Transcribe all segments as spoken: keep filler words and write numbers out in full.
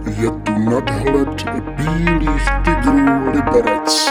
Je tu nadhled bílých tygrů Liberec.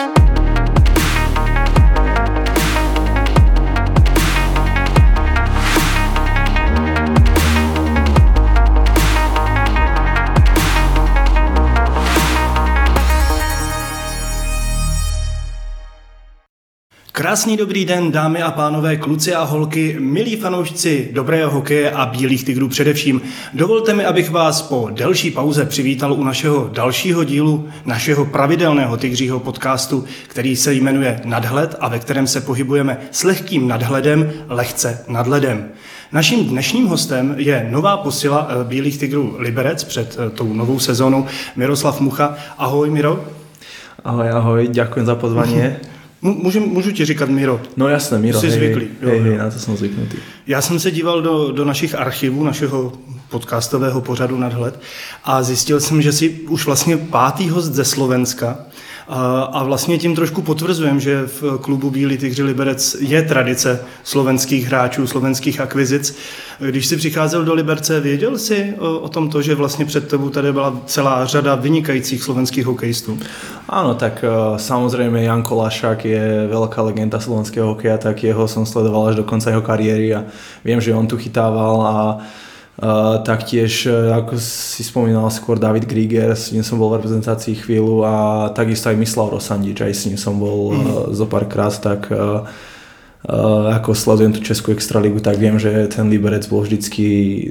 Krásný dobrý den, dámy a pánové, kluci a holky, milí fanoušci dobrého hokeje a bílých tygrů především. Dovolte mi, abych vás po delší pauze přivítal u našeho dalšího dílu našeho pravidelného tygřího podcastu, který se jmenuje Nadhled a ve kterém se pohybujeme s lehkým nadhledem, lehce nad ledem. Naším dnešním hostem je nová posila bílých tygrů Liberec před tou novou sezónou Miroslav Mucha. Ahoj, Miro. Ahoj, ahoj, ďakujem za pozvanie. Můžu, můžu ti říkat Miro? No jasné, Miro. Jsi hej, zvyklý. Hej, hej, na to jsem zvyknutý. Já jsem se díval do, do našich archivů, našeho podcastového pořadu Nadhled a zjistil jsem, že jsi už vlastně pátý host ze Slovenska a, a vlastně tím trošku potvrzujem, že v klubu Bílí tygři Liberec je tradice slovenských hráčů, slovenských akvizic. Když jsi přicházel do Liberce, věděl jsi o, o tom to, že vlastně před tebou tady byla celá řada vynikajících slovenských hokejistů? Áno, tak uh, samozrejme Janko Lašák je veľká legenda slovenského hokeja, tak jeho som sledoval až do konca jeho kariéry a viem, že on tu chytával a uh, taktiež, uh, ako si spomínal skôr, David Grieger, s ním som bol v reprezentácii chvíľu a takisto aj Mislav Rosandič, aj s ním som bol uh, zo párkrát, tak uh, uh, ako sledujem tú českú extraligu, tak viem, že ten Liberec bol vždycky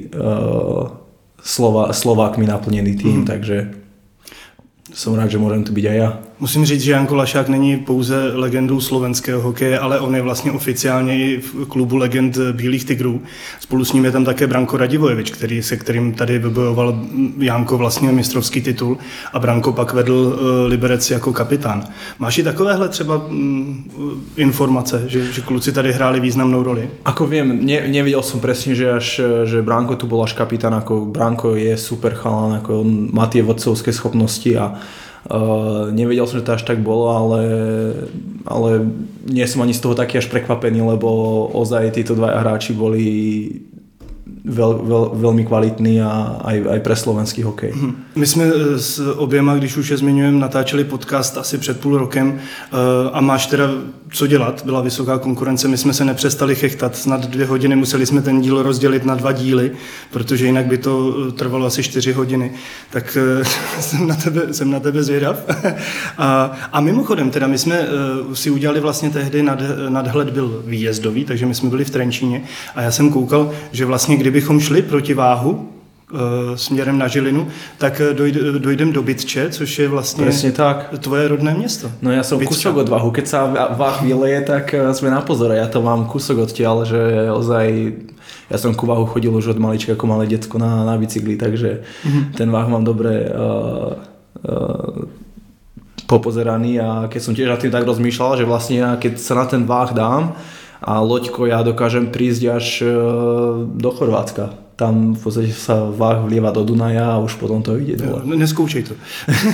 uh, Slova, Slovákmi naplnený tým, mm. takže jsem rád, že můžem tu být aj já. Musím říct, že Janko Lašák není pouze legendou slovenského hokeje, ale on je vlastně oficiálně i v klubu legend Bílých tygrů. Spolu s ním je tam také Branko Radivojevič, který, se kterým tady vybojoval Janko vlastně mistrovský titul a Branko pak vedl Liberec jako kapitán. Máš i takovéhle třeba mm, informace, že, že kluci tady hráli významnou roli? Ako viem, ne, nevidel som presne, že až že Branko tu bol až kapitán, ako Branko je super chalán, ako on má tie vodcovské schopnosti a Uh, nevedel som, že to až tak bolo, ale, ale nie som ani z toho taký až prekvapený, lebo ozaj títo dvaja hráči boli Veľ, veľ, veľmi kvalitný a aj, aj pre slovenský hokej. My jsme s oběma, když už je zmiňujeme, natáčeli podcast asi před půl rokem a máš teda co dělat, byla vysoká konkurence, my jsme se nepřestali chechtat, snad dvě hodiny, museli jsme ten díl rozdělit na dva díly, protože jinak by to trvalo asi čtyři hodiny, tak jsem na tebe, jsem na tebe zvědav. A, a mimochodem, teda my jsme si udělali vlastně tehdy, nad, nadhled byl výjezdový, takže my jsme byli v Trenčíně a já jsem koukal, že vlastně kdybychom šli proti váhu e, směrem na Žilinu, tak dojde, dojdem do Bytče, což je vlastně presne tak. Tvoje rodné město. No ja som Bytča. Kúsok od váhu, keď sa váh vyleje, tak sme na pozore, ja to mám kúsok odtiaľ, že ozaj ja som ku váhu chodil už od malička ako malé decko na, na bicykli, takže mm-hmm. ten váh mám dobre uh, uh, popozeraný a keď som tiež na tým tak rozmýšľal, že vlastne ja, keď sa na ten váh dám a loďko ja dokážem prísť až do Chorvátska. Tam v podstate sa váh vlieva do Dunaja a už potom to ide dole. No, neskoučej to.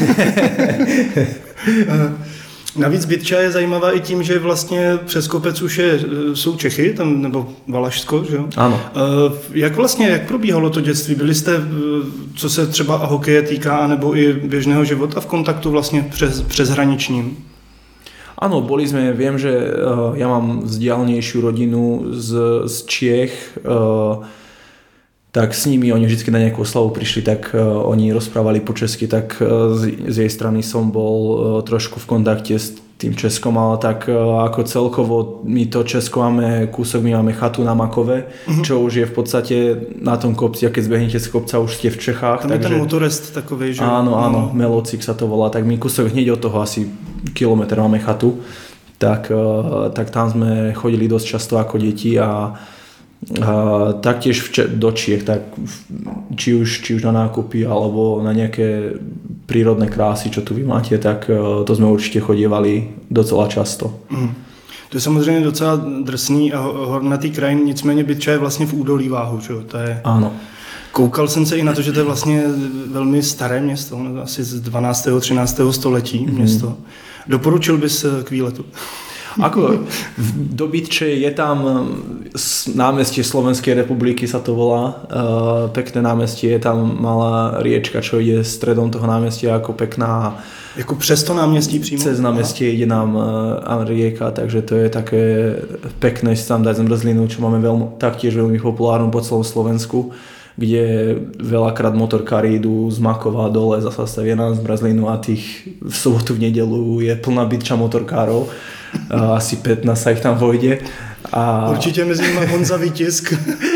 Navíc Bytča je zajímavá i tím, že vlastně přes kopec už je, jsou Čechy, tam, nebo Valašsko, že jo? Ano. Jak vlastně, jak probíhalo to dětství? Byli jste, co se třeba hokeje týká, nebo i běžného života v kontaktu vlastně přes, přeshraničním? Áno, boli sme, viem, že uh, ja mám vzdialnejšiu rodinu z, z Čiech, uh, tak s nimi oni vždy na nejakú oslavu prišli, tak uh, oni rozprávali po česky, tak uh, z, z jej strany som bol uh, trošku v kontakte s tým Českom, ale tak uh, ako celkovo my to Česko máme, kúsok my máme chatu na Makove, mm-hmm. čo už je v podstate na tom kopci, a keď zbehnete z kopca, už ste v Čechách. Tam takže, je ten motorest takovej, že? Áno, áno, Melocik sa to volá, tak my kúsok hneď od toho asi kilometr máme chatu, tak, tak tam sme chodili dosť často ako deti a, a taktiež v, do Čiech, tak či už, či už na nákupy alebo na nejaké prírodné krásy, čo tu vy máte, tak to sme určite chodievali docela často. Mm. To je samozřejmě docela drsný a hornatý kraj, nicméně Bytča je vlastně v údolí Váhu, že? To je... Áno. Koukal jsem se i na to, že to je vlastně velmi staré město, asi z dvanáctého třináctého století město. Mm. Doporučil bys k výletu? Ako v Dobitče je tam námestie Slovenskej republiky sa to volá, uh, pekné námestie, je tam malá riečka, čo je stredom toho námestia ako pekná. Jako přes to náměstí přímo? Cez námestie ide nám uh, rieka, takže to je také pekné si tam dať zmrzlinu, čo máme veľmi, taktiež veľmi populárnu po celom Slovensku, kde veľakrát motorkári idú z Makova dole, zasa stavia na zmrzlinu a tých v sobotu, v nedelu je plná bytča motorkárov. Asi pätnásť sa ich tam vojde. A... Určite mezi nimi Honza Vítisk.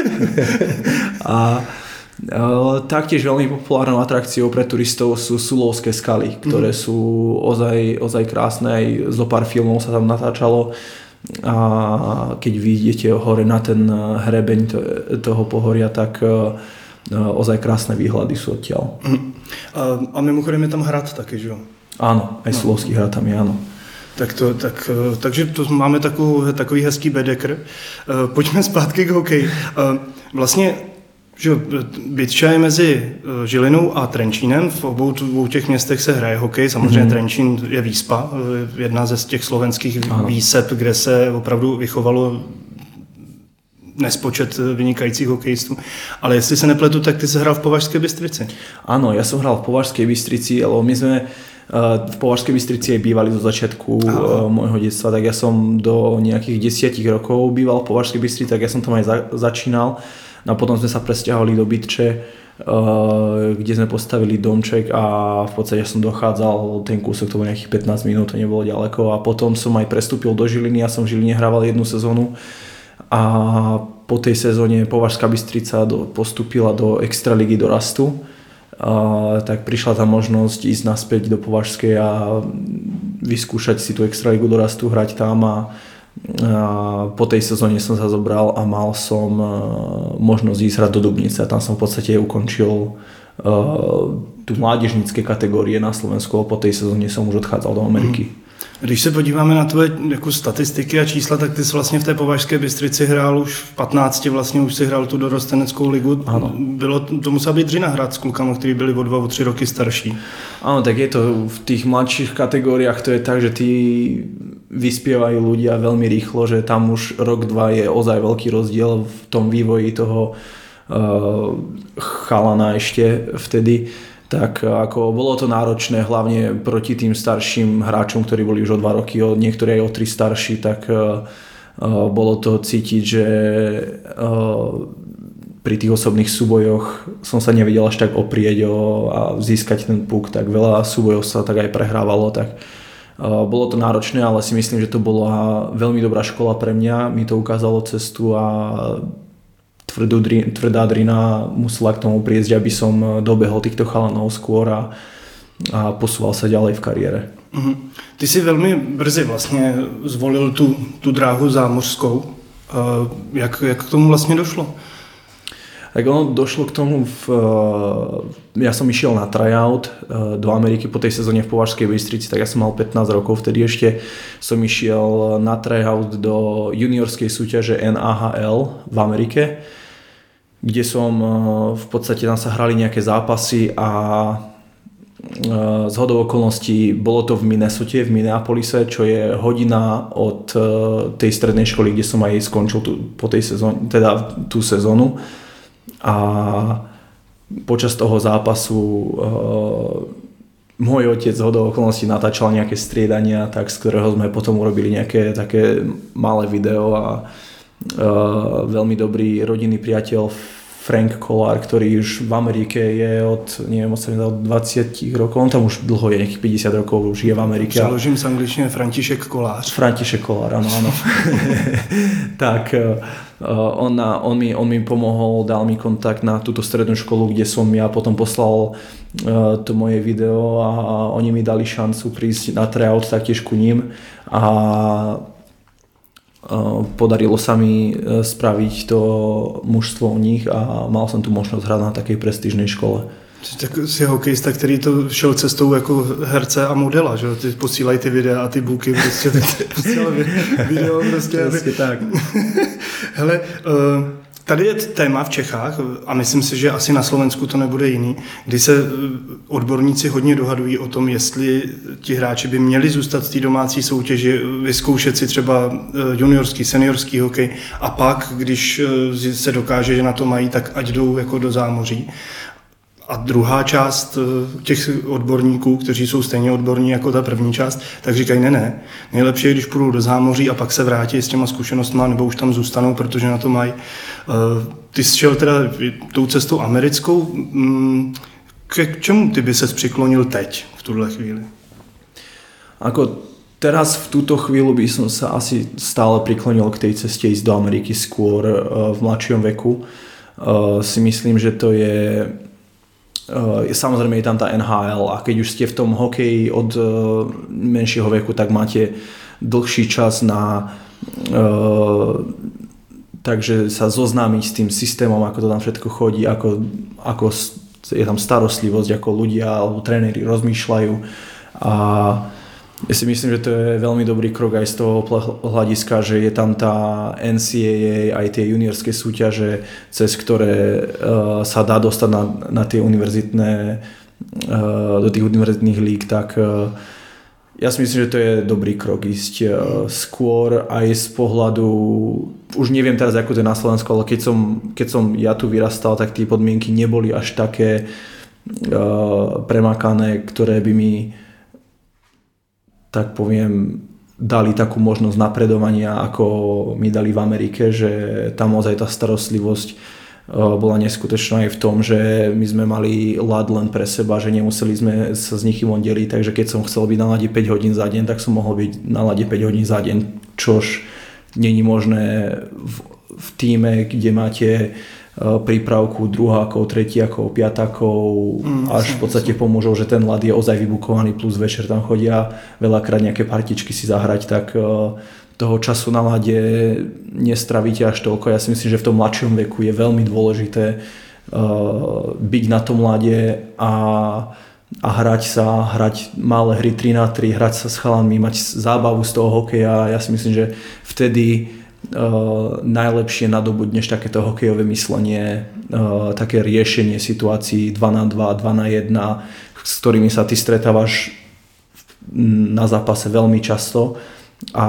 a e, taktiež veľmi populárnou atrakciou pre turistov sú Sulovské skaly, ktoré mm. sú ozaj, ozaj krásne, aj zo pár filmov sa tam natáčalo. A keď vy idete hore na ten hrebeň toho pohoria, tak ozaj krásne výhľady sú odtiaľ. A, a mimochodem je tam hrad taky, že jo? Áno, aj Sulovský hrad tam je, áno. Tak to, tak, takže to máme takovou, takový hezký bedekr. Pojďme zpátky k hokeji. Vlastně, že Bytča je mezi Žilinou a Trenčínem. V obou dvou těch městech se hraje hokej. Samozřejmě mm-hmm. Trenčín je výspa, jedna ze těch slovenských ano. výsep, kde se opravdu vychovalo nespočet vynikajících hokejistů. Ale jestli se nepletu, tak ty jsi hrál v Považské Bystrici. Áno, ja som hral v Považskej Bystrici, ale my sme v Považskej Bystrici aj bývali do začiatku Aha. môjho detstva, tak ja som do nejakých desiatich rokov býval v Považskej Bystrici, tak ja som tam aj za, začínal. A potom sme sa presťahovali do Bytče, kde sme postavili domček a v podstate som dochádzal ten kúsok, to bolo nejakých pätnásť minút, to nebolo ďaleko. A potom som aj prestúpil do Žiliny, ja som v Žiline hrával jednu sezónu a po tej sezóne Považská Bystrica do, postúpila do Extraligy do Rastu. A, tak prišla tá možnosť ísť naspäť do Považskej a vyskúšať si tú Extraligu do Rastu, hrať tam a, a po tej sezóne som sa zobral a mal som možnosť ísť hrať do Dubnice a tam som v podstate ukončil uh, tu mládežnické kategórie na Slovensku a po tej sezóne som už odchádzal do Ameriky. Mm. Když se podíváme na tvoje jako statistiky a čísla, tak ty jsi vlastně v té Považské Bystrici hrál už v patnácti, vlastně už si hrál tu dorosteneckou ligu. Ano. Bylo, to musela být dřina hrát s klukama, kteří byli o dva, o tři roky starší. Áno, tak je to v tých mladších kategóriách, to je tak, že tí vyspievajú ľudia veľmi rýchlo, že tam už rok, dva je ozaj veľký rozdiel v tom vývoji toho uh, chalana ešte vtedy. Tak ako bolo to náročné hlavne proti tým starším hráčom, ktorí boli už o dva roky, niektorí aj o tri starší, tak uh, bolo to cítiť, že uh, pri tých osobných súbojoch som sa nevedel až tak oprieť o, a získať ten puk, tak veľa súbojov sa tak aj prehrávalo, tak uh, bolo to náročné, ale si myslím, že to bola veľmi dobrá škola pre mňa, mi to ukázalo cestu a Tvrdú, tvrdá drina musela k tomu prísť, aby som dobehol týchto chalanov skôr a, a posúval sa ďalej v kariére. Mm-hmm. Ty si veľmi brzy vlastne zvolil tú, tú dráhu zámořskou. Uh, jak, jak k tomu vlastne došlo? Tak ono došlo k tomu, v, ja som išiel na tryout do Ameriky po tej sezóne v Považskej Bystrici, tak ja som mal pätnásť rokov, vtedy ešte som išiel na tryout do juniorskej súťaže N A H L v Amerike, kde som v podstate tam sa hrali nejaké zápasy a zhodou okolností bolo to v Minnesote, v Minneapolise, čo je hodina od tej strednej školy, kde som aj skončil tú, po tej sezóne, teda tú sezónu. A počas toho zápasu uh, môj otec zhodou okolností natáčal nejaké striedania, tak z ktorého sme potom urobili nejaké také malé video a uh, veľmi dobrý rodinný priateľ Frank Kollár, ktorý už v Amerike je od, neviem, od dvadsať rokov, on tam už dlho je, nejakých päťdesiat rokov, už je v Amerike. Přeložím z angličtiny František Kolář. František Kollár, áno, áno. Tak uh, on, on, mi, on mi pomohol, dal mi kontakt na túto strednú školu, kde som ja potom poslal uh, to moje video a oni mi dali šancu prísť na tryout taktiež ku ním a podarilo sa mi spraviť to mužstvo u nich a mal som tu možnosť hrať na takej prestížnej škole. Tak jsi hokejista, který to šel cestou jako herce a modela, že ty posílají ty videa a ty buky, prostě posílají video prostě. Prostě tak. Hele, uh, Tady je téma v Čechách a myslím si, že asi na Slovensku to nebude jiný, kdy se odborníci hodně dohadují o tom, jestli ti hráči by měli zůstat v té domácí soutěži, vyzkoušet si třeba juniorský, seniorský hokej a pak, když se dokáže, že na to mají, tak ať jdou jako do zámoří. A druhá část těch odborníků, kteří jsou stejně odborní jako ta první část, tak říkají ne, ne. Nejlepší je, když půjdou do zámoří a pak se vrátí s těma zkušenostma, nebo už tam zůstanou, protože na to mají. Ty jsi šel teda tou cestou americkou. K čemu ty by ses přiklonil teď, v tuhle chvíli? Ako teraz v túto chvíľu by som sa asi stále priklonil k tej ceste ísť do Ameriky skôr v mladšom veku. Si myslím, že to je samozrejme je tam tá en há el a keď už ste v tom hokeji od menšieho veku, tak máte dlhší čas na takže sa zoznámiť s tým systémom, ako to tam všetko chodí, ako, ako je tam starostlivosť, ako ľudia alebo tréneri rozmýšľajú a ja si myslím, že to je veľmi dobrý krok aj z toho hľadiska, že je tam tá en cé á á, aj tie juniorské súťaže, cez ktoré uh, sa dá dostať na, na tie univerzitné, uh, do tých univerzitných líg, tak uh, ja si myslím, že to je dobrý krok ísť uh, skôr aj z pohľadu, už neviem teraz, ako to je na Slovensku, ale keď som, keď som ja tu vyrastal, tak tie podmienky neboli až také uh, premakané, ktoré by mi tak poviem, dali takú možnosť napredovania, ako mi dali v Amerike, že tam ozaj tá starostlivosť bola neskutočná aj v tom, že my sme mali ľad len pre seba, že nemuseli sme sa s nikým oddeliť, takže keď som chcel byť na ľade päť hodín za deň, tak som mohol byť na ľade päť hodín za deň, čož není možné v, v tíme, kde máte prípravku druhákov, tretiakov, piatakov, mm, až v podstate pomôžou, že ten ľad je ozaj vybukovaný, plus večer tam chodia veľakrát nejaké partičky si zahrať, tak toho času na ľade nestravíte až toľko. Ja si myslím, že v tom mladšom veku je veľmi dôležité byť na tom ľade a, a hrať sa, hrať malé hry tri na tri, hrať sa s chalanmi, mať zábavu z toho hokeja. Ja si myslím, že vtedy Uh, najlepšie nadobudneš takéto hokejové myslenie, uh, také riešenie situácií dva na dva, dva na jedna, s ktorými sa ty stretávaš na zápase veľmi často a,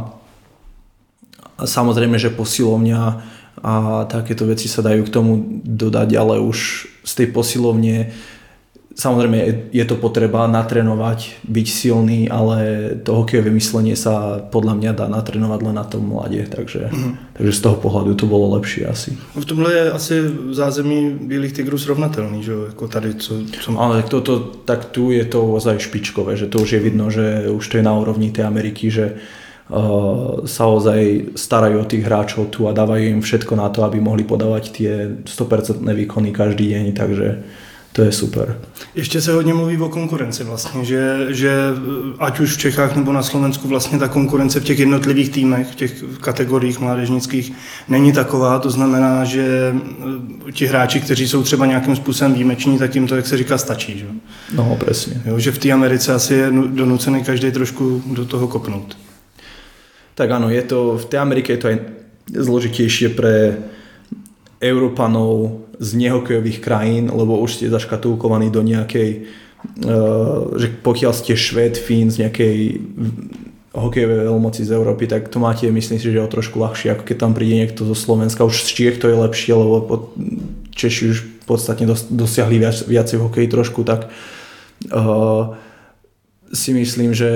a samozrejme, že posilovňa a takéto veci sa dajú k tomu dodať, ale už z tej posilovne samozrejme je to potreba natrénovať, byť silný, ale to hokejové myslenie sa podľa mňa dá natrénovať len na tom mladě, takže, mm-hmm. takže z toho pohľadu to bolo lepšie asi. V tomhle je asi zázemí Bílých tigrů srovnatelný, že jako tady, co... co... Ale tak, to, to, tak tu je to ozaj špičkové, že to už je vidno, že už to je na úrovni tej Ameriky, že uh, sa ozaj starajú o tých hráčov tu a dávajú im všetko na to, aby mohli podávať tie sto percent výkony každý deň, takže to je super. Ještě se hodně mluví o konkurenci vlastně, že, že ať už v Čechách nebo na Slovensku vlastně ta konkurence v těch jednotlivých týmech, v těch kategoriích mládežnických není taková, to znamená, že ti hráči, kteří jsou třeba nějakým způsobem výjimeční, tak jim to, jak se říká, stačí. Že? No, přesně. Jo, že v té Americe asi je donucený každý trošku do toho kopnout. Tak áno, je to, v tej Amerike je to aj zložitejšie pre Európanov z nehokejových krajín, lebo už ste zaškatulkovaní do nejakej, uh, že pokiaľ ste Švéd, Fín z nejakej hokejovej veľmoci z Európy, tak to máte, myslím si, že o trošku ľahšie, ako keď tam príde niekto zo Slovenska. Už z Čiech to je lepšie, lebo Češi už podstatne dos- dosiahli viac, viacej v hokeji trošku, tak uh, si myslím, že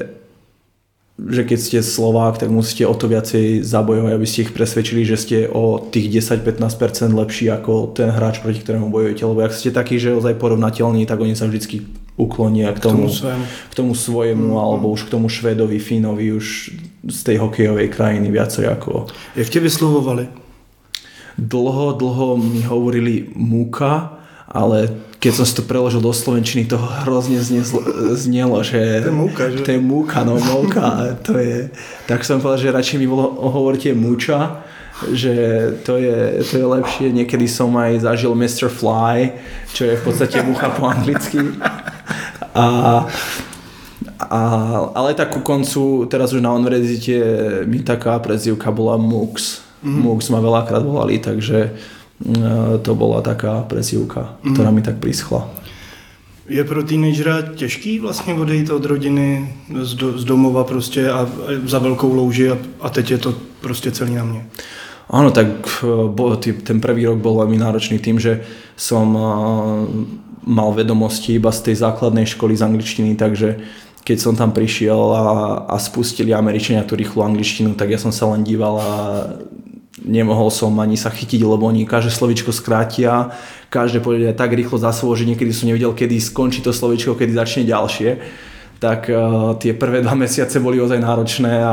že keď ste Slovák, tak musíte o to viacej zabojovať, aby ste ich presvedčili, že ste o tých desať až pätnásť percent lepší ako ten hráč, proti ktorému bojujete. Lebo ak ste takí, že ozaj porovnateľní, tak oni sa vždycky uklonia k tomu, k tomu, k tomu svojemu, mm. alebo už k tomu Švédovi, Fínovi, už z tej hokejovej krajiny viacej ako... Jak tě vyslovovali? Dlho, dlho mi hovorili Múka, ale keď som si to preložil do slovenčiny, to hrozne znelo, že... To je múka, že? To je múka, no múka, to je... Tak som povedal, že radšej mi bolo hovorte múča, že to je, to je lepšie. Niekedy som aj zažil mister Fly, čo je v podstate múcha po anglicky. A, a, ale tak ku koncu, teraz už na univerzite mi taká prezývka bola Mux. mm. Mux ma veľakrát volali, takže to bola taká presívka, mm. ktorá mi tak prischla. Je pro teenagera těžký vlastně odejít od rodiny z, do, z domova prostě a, a za velkou louži a, a teď je to prostě celý na mě? Áno, tak bo, tý, ten prvý rok bol veľmi náročný tým, že som uh, mal vedomosti iba z tej základnej školy z angličtiny, takže keď som tam prišiel a, a spustili Američania tú rýchlu angličtinu, tak ja som sa len díval a nemohol som ani sa chytiť, lebo oni každé slovíčko skrátia, každé povedia tak rýchlo za slovo, že niekedy som nevedel, kedy skončí to slovíčko, kedy začne ďalšie. Tak uh, tie prvé dva mesiace boli ozaj náročné a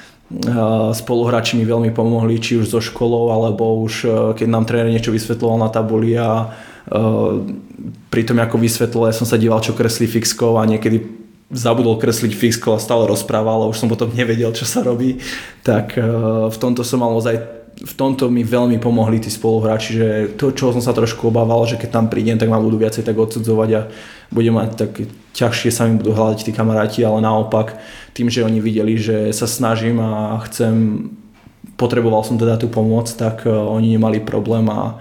uh, spoluhráči mi veľmi pomohli, či už so školou, alebo už uh, keď nám tréner niečo vysvetľoval na tabuli a uh, pri tom, ako vysvetľoval, ja som sa díval, čo kreslí fixkou a niekedy zabudol kresliť fixkou a stále rozprával a už som potom nevedel, čo sa robí. Tak uh, v tomto som mal ozaj v tomto mi veľmi pomohli tí spoluhráči, že to, čo som sa trošku obával, že keď tam prídem, tak ma budú viacej tak odsudzovať a budem mať tak ťažšie sa mi budú hľadať tí kamaráti, ale naopak tým, že oni videli, že sa snažím a chcem, potreboval som teda tú pomoc, tak oni nemali problém a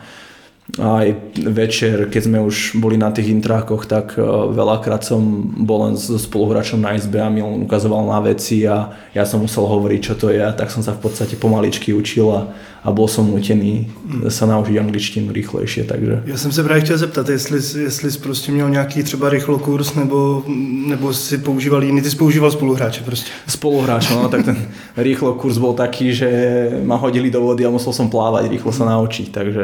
aj večer, keď sme už boli na tých intrákoch, tak veľakrát som bol len so spoluhráčom na izbe a mi on ukazoval na veci a ja som musel hovoriť, čo to je, a tak som sa v podstate pomaličky učil a, a bol som nutený sa naučiť angličtinu rýchlejšie, takže... Já jsem se právě chtěl zeptat, jestli, jestli jsi prostě měl nějaký třeba rychlokurs nebo, nebo si používal jiný, ty jsi používal spoluhráče prostě. Spoluhráče, no tak ten rýchlokurs bol taký, že ma hodili do vody a musel som plávať, rýchlo sa naučiť, takže...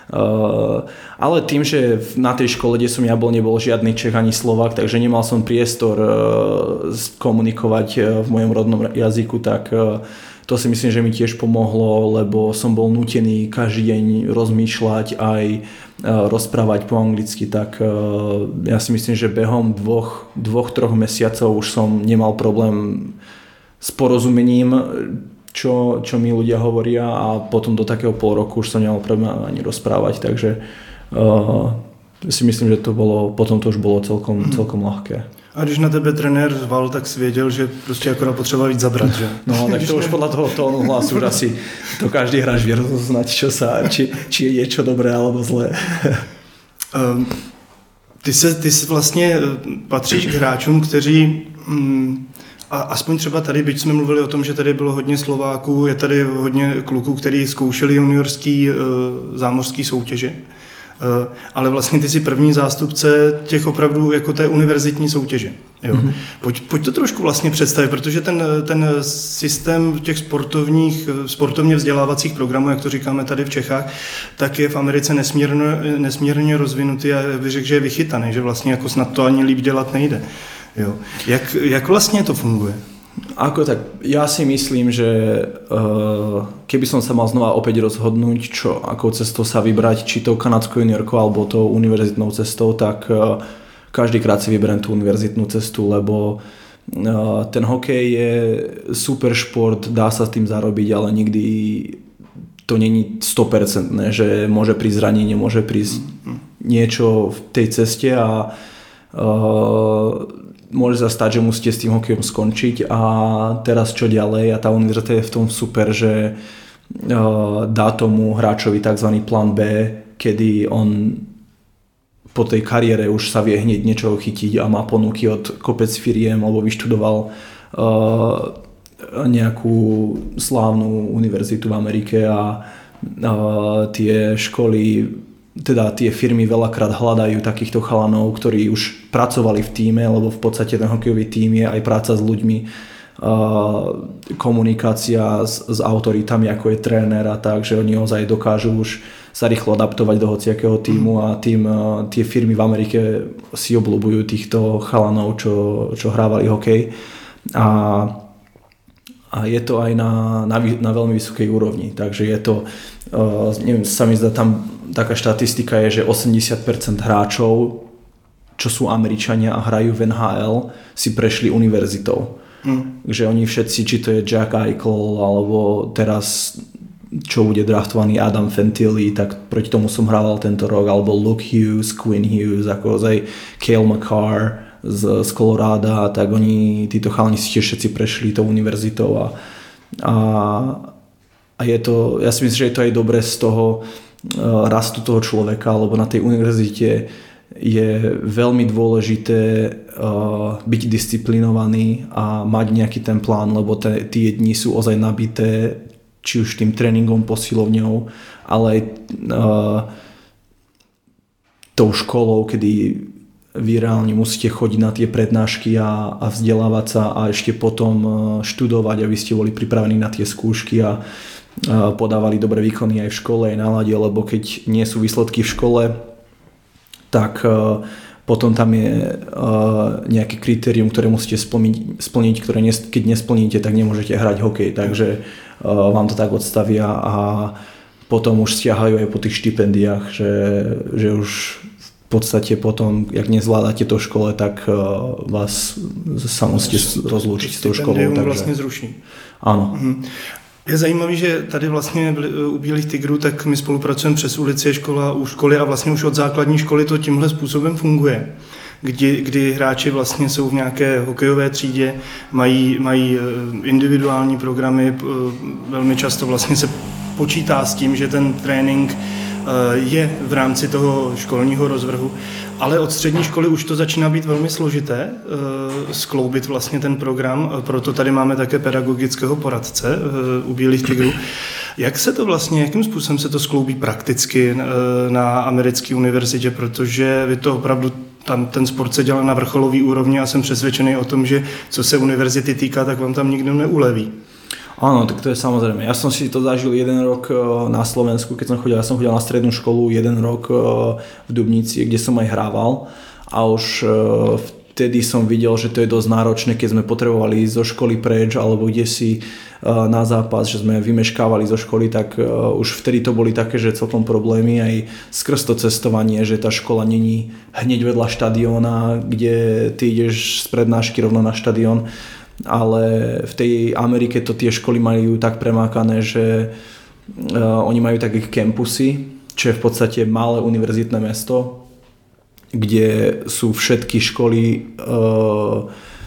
Uh, ale tým, že na tej škole, kde som ja bol, nebol žiadny Čech ani Slovák, takže nemal som priestor uh, komunikovať uh, v mojom rodnom jazyku, tak uh, to si myslím, že mi tiež pomohlo, lebo som bol nútený každý deň rozmýšľať aj uh, rozprávať po anglicky, tak uh, ja si myslím, že behom dvoch, dvoch, troch mesiacov už som nemal problém s porozumením, Čo, čo mi ľudia hovoria, a potom do takého pol roku už som nemal problém ani rozprávať, takže uh, si myslím, že to bolo, potom to už bolo celkom, celkom ľahké. A když na tebe trenér zval, tak si věděl, že prostě akorát potřeba víc zabrat, že? No, tak to už podľa toho tónu hlasu už asi to každý hráč vie rozoznať, čo sa, či, či je niečo dobré alebo zlé. Um, ty, se, ty se vlastně patříš k hráčům, kteří... Mm, A aspoň třeba tady, byť jsme mluvili o tom, že tady bylo hodně Slováků, je tady hodně kluků, kteří zkoušeli juniorský e, zámořský soutěže, e, ale vlastně ty jsi první zástupce těch opravdu jako té univerzitní soutěže. Jo. Mm-hmm. Pojď, pojď to trošku vlastně představit, protože ten, ten systém těch sportovních, sportovně vzdělávacích programů, jak to říkáme tady v Čechách, tak je v Americe nesmírně, nesmírně rozvinutý a bych řekl, že je vychytaný, že vlastně jako snad to ani líp dělat nejde. Jo. Jak, jak vlastně to funguje? Ako tak, ja si myslím, že uh, keby som sa mal znova opäť rozhodnúť, čo, akou cestou sa vybrať, či tou kanadskou juniorkou alebo tou univerzitnou cestou, tak uh, každýkrát si vyberiem tú univerzitnú cestu, lebo uh, ten hokej je super šport, dá sa s tým zarobiť, ale nikdy to není sto percent, že môže prísť zranenie, môže prísť niečo v tej ceste a uh, môže sa stať, že musíte s tým hokejom skončiť a teraz čo ďalej, a tá univerzita je v tom super, že uh, dá tomu hráčovi tzv. Plán B, kedy on po tej kariére už sa vie hneď niečo chytiť a má ponuky od kopec firiem, alebo vyštudoval uh, nejakú slávnu univerzitu v Amerike a uh, tie školy, teda tie firmy veľakrát hľadajú takýchto chalanov, ktorí už pracovali v tíme, lebo v podstate ten hokejový tím je aj práca s ľuďmi, komunikácia s, s autoritami, ako je tréner a tak, že oni ozaj dokážu už sa rýchlo adaptovať do hociakého tímu a tým tie firmy v Amerike si obľúbujú týchto chalanov, čo, čo hrávali hokej. A, a je to aj na, na, na veľmi vysokej úrovni, takže je to, uh, neviem, sa mi zdá, tam taká štatistika je, že osemdesiat percent hráčov, čo sú Američania a hrajú v en há el, si prešli univerzitou. Mm. Že oni všetci, či to je Jack Eichel, alebo teraz, čo bude draftovaný Adam Fantilli, tak proti tomu som hrával tento rok, alebo Luke Hughes, Quinn Hughes, ako aj Cale Makar z, z Coloráda, tak oni, títo chalani si tiež všetci prešli tou univerzitou a, a a je to, ja si myslím, že je to aj dobré z toho uh, rastu toho človeka, lebo na tej univerzite je veľmi dôležité uh, byť disciplinovaný a mať nejaký ten plán, lebo te, tie dni sú ozaj nabité, či už tým tréningom, posilovňou, ale aj uh, tou školou, kedy vy reálne musíte chodiť na tie prednášky a, a vzdelávať sa a ešte potom študovať, aby ste boli pripravení na tie skúšky a, a podávali dobré výkony aj v škole, aj na lade, lebo keď nie sú výsledky v škole, tak a, potom tam je a, nejaké kritérium, ktoré musíte splniť, splniť ktoré nes, keď nesplníte, tak nemôžete hrať hokej, takže a, vám to tak odstavia a potom už stiahajú aj po tých štipendiách, že, že už v podstate potom, jak nezvládate to v škole, tak uh, vás sa musíte rozlúčiť s tou školou. Takže vlastně zruší. Ano. Mhm. Je zajímavý, že tady vlastně u Bílých tigrů, tak my spolupracujeme přes ulici, škola, u školy a vlastně už od základní školy to tímhle způsobem funguje. Kdy, kdy hráči vlastně jsou v nějaké hokejové třídě, mají, mají individuální programy, velmi často vlastně se počítá s tím, že ten trénink je v rámci toho školního rozvrhu, ale od střední školy už to začíná být velmi složité skloubit vlastně ten program, proto tady máme také pedagogického poradce u Bílých tigrů. Jak se to vlastně, jakým způsobem se to skloubí prakticky na americké univerzitě, protože vy to opravdu tam ten sport se dělá na vrcholové úrovni a jsem přesvědčený o tom, že co se univerzity týká, tak vám tam nikdo neuleví. Áno, tak to je samozrejme. Ja som si to zažil jeden rok na Slovensku, keď som chodil, ja som chodil na strednú školu jeden rok v Dubnici, kde som aj hrával a už vtedy som videl, že to je dosť náročné, keď sme potrebovali ísť zo školy preč alebo kde si na zápas, že sme vymeškávali zo školy, tak už vtedy to boli také, že celkom problémy aj skrz to cestovanie, že tá škola není hneď vedľa štadióna, kde ty ideš z prednášky rovno na štadión. Ale v tej Amerike to tie školy majú tak premákané, že uh, oni majú také campusy, čo je v podstate malé univerzitné mesto, kde sú všetky školy, uh,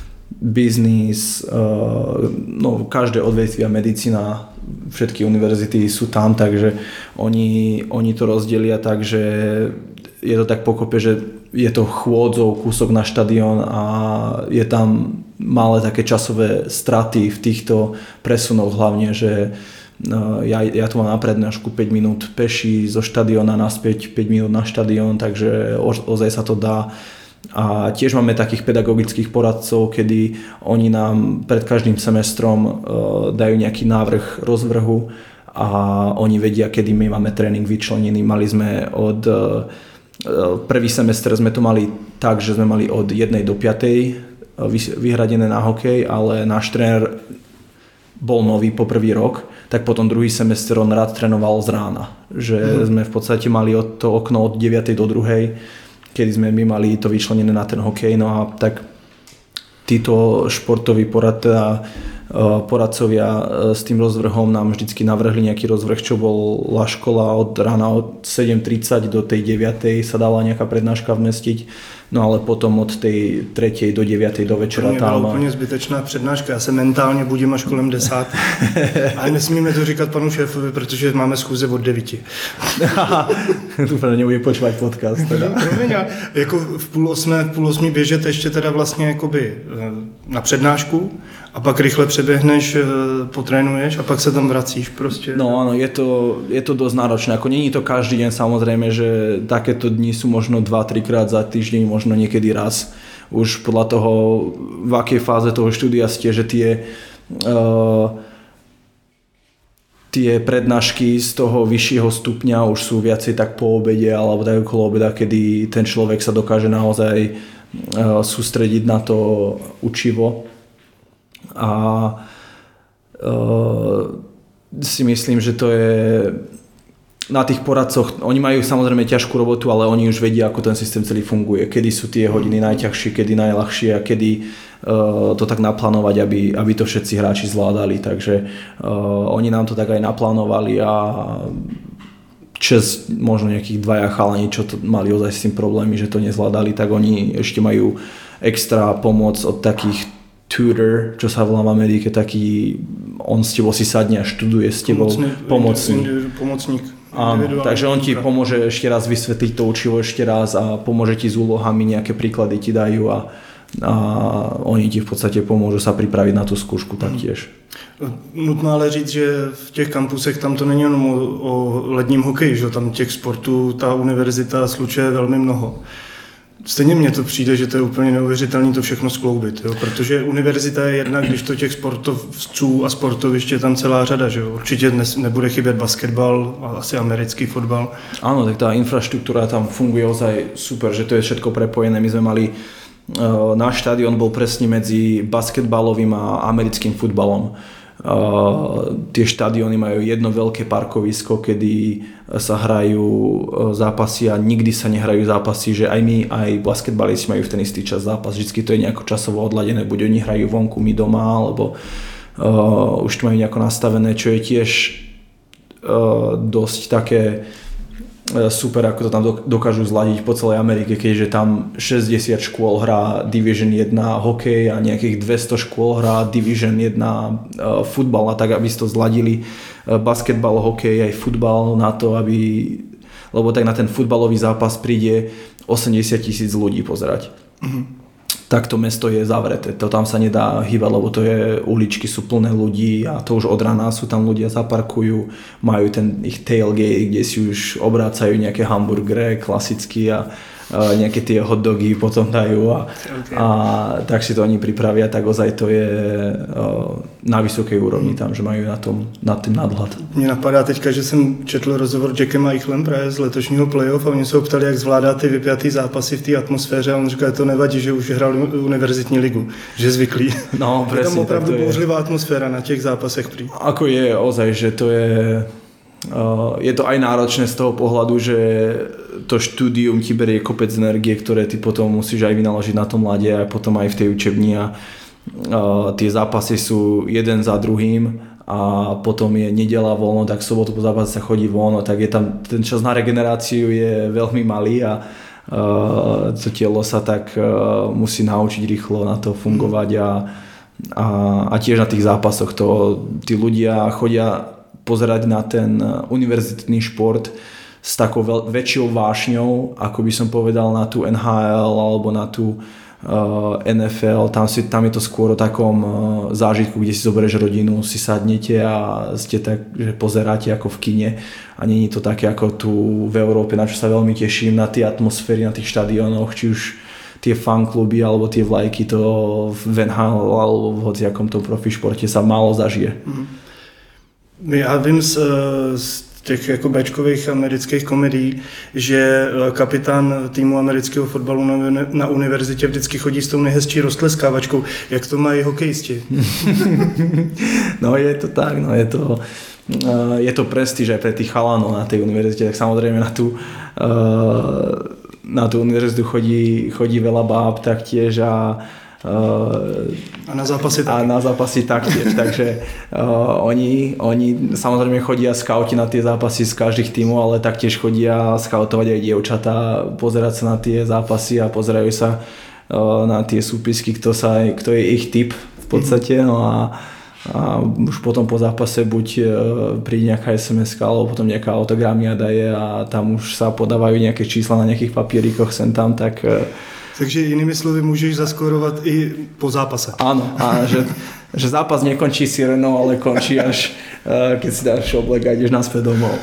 biznis, uh, no každé odvetvia, medicína, všetky univerzity sú tam, takže oni, oni to rozdelia tak, že je to tak pokope, že je to chôdzou kúsok na štadión a je tam malé také časové straty v týchto presunoch, hlavne, že ja, ja tu mám na prednášku päť minút peši zo štadióna naspäť päť minút na štadión, takže ozaj sa to dá. A tiež máme takých pedagogických poradcov, kedy oni nám pred každým semestrom dajú nejaký návrh rozvrhu a oni vedia, kedy my máme tréning vyčlenený. Mali sme od prvý semester sme to mali tak, že sme mali od jednej do piatej vyhradené na hokej, ale náš tréner bol nový po prvý rok, tak potom druhý semester on rád trénoval z rána. Že mm. sme v podstate mali od to okno od deviatej do druhej, kedy sme my mali to vyčlenené na ten hokej. No a tak títo športoví poradcovia, poradcovia s tým rozvrhom nám vždycky navrhli nejaký rozvrh, čo bola škola od rána od sedem tridsať do tej deviatej sa dala nejaká prednáška vmestiť, no ale potom od tej tretej do deviatej do večera tam... To byla úplně zbytečná přednáška, já se mentálně budím až kolem desáté. Ale nesmíme to říkat panu šéfovi, protože máme schůze od devíti. Dúfam, nebude počúvať podcast. Teda. Promiň, jako v půl osmé, v půl osmí běžet ještě teda vlastně jakoby na přednášku a pak rychle přeběhneš, potrénuješ a pak se tam vracíš prostě. No áno, je to, je to dosť náročné. Ako nie je to každý deň, samozrejme, že takéto dni sú možno dva tri krát za týždeň, možno niekedy raz. Už podľa toho, v akej fáze toho štúdia ste, že tie uh, tie prednášky z toho vyššieho stupňa už sú viacej tak po obede alebo tak okolo obeda, kedy ten človek sa dokáže naozaj uh, sústrediť na to učivo. A uh, si myslím, že to je na tých poradcoch, oni majú samozrejme ťažkú robotu, ale oni už vedia, ako ten systém celý funguje, kedy sú tie hodiny najťažšie, kedy najľahšie a kedy uh, to tak naplánovať, aby, aby to všetci hráči zvládali, takže uh, oni nám to tak aj naplánovali a čes možno nejakých dvaja chalani, čo to mali ozaj s tým problémy, že to nezvládali, tak oni ešte majú extra pomoc od takých tutor, čo sa volá v Amerike, taký, on s tebou si sadne a študuje s tebou, pomocník. Pomocník. Áno, takže on ti pomôže ešte raz vysvetliť to učivo ešte raz a pomôže ti s úlohami, nejaké príklady ti dajú a, a oni ti v podstate pomôžu sa pripraviť na tú skúšku taktiež. Nutno ale říct, že v těch kampusech tam to není jenom o, o ledním hokeji, že tam těch sportů ta univerzita slučuje velmi mnoho. Stejně mně to přijde, že to je úplně neuvěřitelné to všechno skloubit, jo? Protože univerzita je jedna, když to těch sportovců a sportovišť je tam celá řada, že jo? Určitě dnes nebude chybět basketbal a asi americký fotbal. Áno, tak tá infraštruktúra tam funguje ozaj super, že to je všetko prepojené. My sme mali, uh, náš štadión bol presne medzi basketbalovým a americkým futbalom. Uh, tie štadióny majú jedno veľké parkovisko, kedy sa hrajú zápasy a nikdy sa nehrajú zápasy, že aj my, aj basketbalisti majú v ten istý čas zápas. Vždycky to je nejako časovo odladené, buď oni hrajú vonku, my doma, alebo uh, už to majú nejako nastavené, čo je tiež uh, dosť také super, ako to tam dokážu zladiť po celej Amerike, keďže tam šesťdesiat škôl hrá Division jeden hokej a nejakých dvesto škôl hrá Division jeden uh, futbal a tak, aby si to zladili uh, basketbal, hokej aj futbal na to, aby, lebo tak na ten futbalový zápas príde osemdesiat tisíc ľudí pozerať. Mm-hmm. Tak to mesto je zavreté, to tam sa nedá hýbať, lebo to je, uličky sú plné ľudí a to už od rána sú tam ľudia, zaparkujú, majú ten ich tailgate, kde si už obrácajú nejaké hamburgery klasicky a, a nejaké tie hot dogy potom dajú a, okay. a tak si to oni pripravia, tak ozaj to je uh, na vysokej úrovni tam, že majú na tom nad tým nadhľad. Mně napadá teďka, že jsem četl rozhovor Jackem Eichlem právě z letošního playoff a oni se ho ptali, jak zvládá ty vypjatý zápasy v té atmosféře a on říkal, že to nevadí, že už hrál univerzitní ligu, že je zvyklý. No, presne, je tam opravdu je bouřlivá atmosféra na těch zápasech prý. Ako je ozaj, že to je uh, je to aj náročné z toho pohľadu, že to štúdium ti berie kopec energie, ktoré ty potom musíš aj vynaložiť na tom mladie a potom aj v tej učebni a uh, tie zápasy sú jeden za druhým a potom je nedeľa voľno, tak sobotu po zápase sa chodí voľno, tak je tam ten čas na regeneráciu je veľmi malý a uh, to telo sa tak uh, musí naučiť rýchlo na to fungovať a, a, a tiež na tých zápasoch to tí ľudia chodia pozerať na ten univerzitný šport s takou veľ, väčšou vášňou, ako by som povedal na tú en há el alebo na tú uh, en ef el. Tam, si, tam je to skôr o takom uh, zážitku, kde si zoberieš rodinu, si sadnete a ste tak, že pozeráte ako v kine a nie je to také ako tu v Európe, na čo sa veľmi teším, na tie atmosféry, na tých štadiónoch, či už tie fankluby alebo tie vlajky, to v en há el alebo v hociakom tom profi športe sa málo zažije. Mm. Já vím z, z těch jako béčkových amerických komedií, že kapitán týmu amerického fotbalu na, na univerzitě vždycky chodí s tou nejhezčí roztleskávačkou. Jak to mají hokejisti? No je to tak, no je to, je to prestíž aj pre tých chalanov na tej univerzite, tak samozrejme na tú, na tú univerzitu chodí, chodí veľa báb taktiež a Uh, a na zápasy taktiež. A na zápasy taktiež, takže uh, oni, oni samozrejme chodia skauti na tie zápasy z každých tímov, ale taktiež chodia skautovať aj dievčatá, pozerať sa na tie zápasy a pozerajú sa uh, na tie súpisky, kto, sa, kto je ich typ v podstate, no a, a už potom po zápase buď uh, príde nejaká es em eska alebo potom nejaká autogramia daje a tam už sa podávajú nejaké čísla na nejakých papierikoch sem tam, tak uh, takže jinými slovy můžeš zaskorovat i po zápase. Áno, a že, že zápas nekončí sirenou, ale končí až keď si dáš oblek a ideš naspäť domov.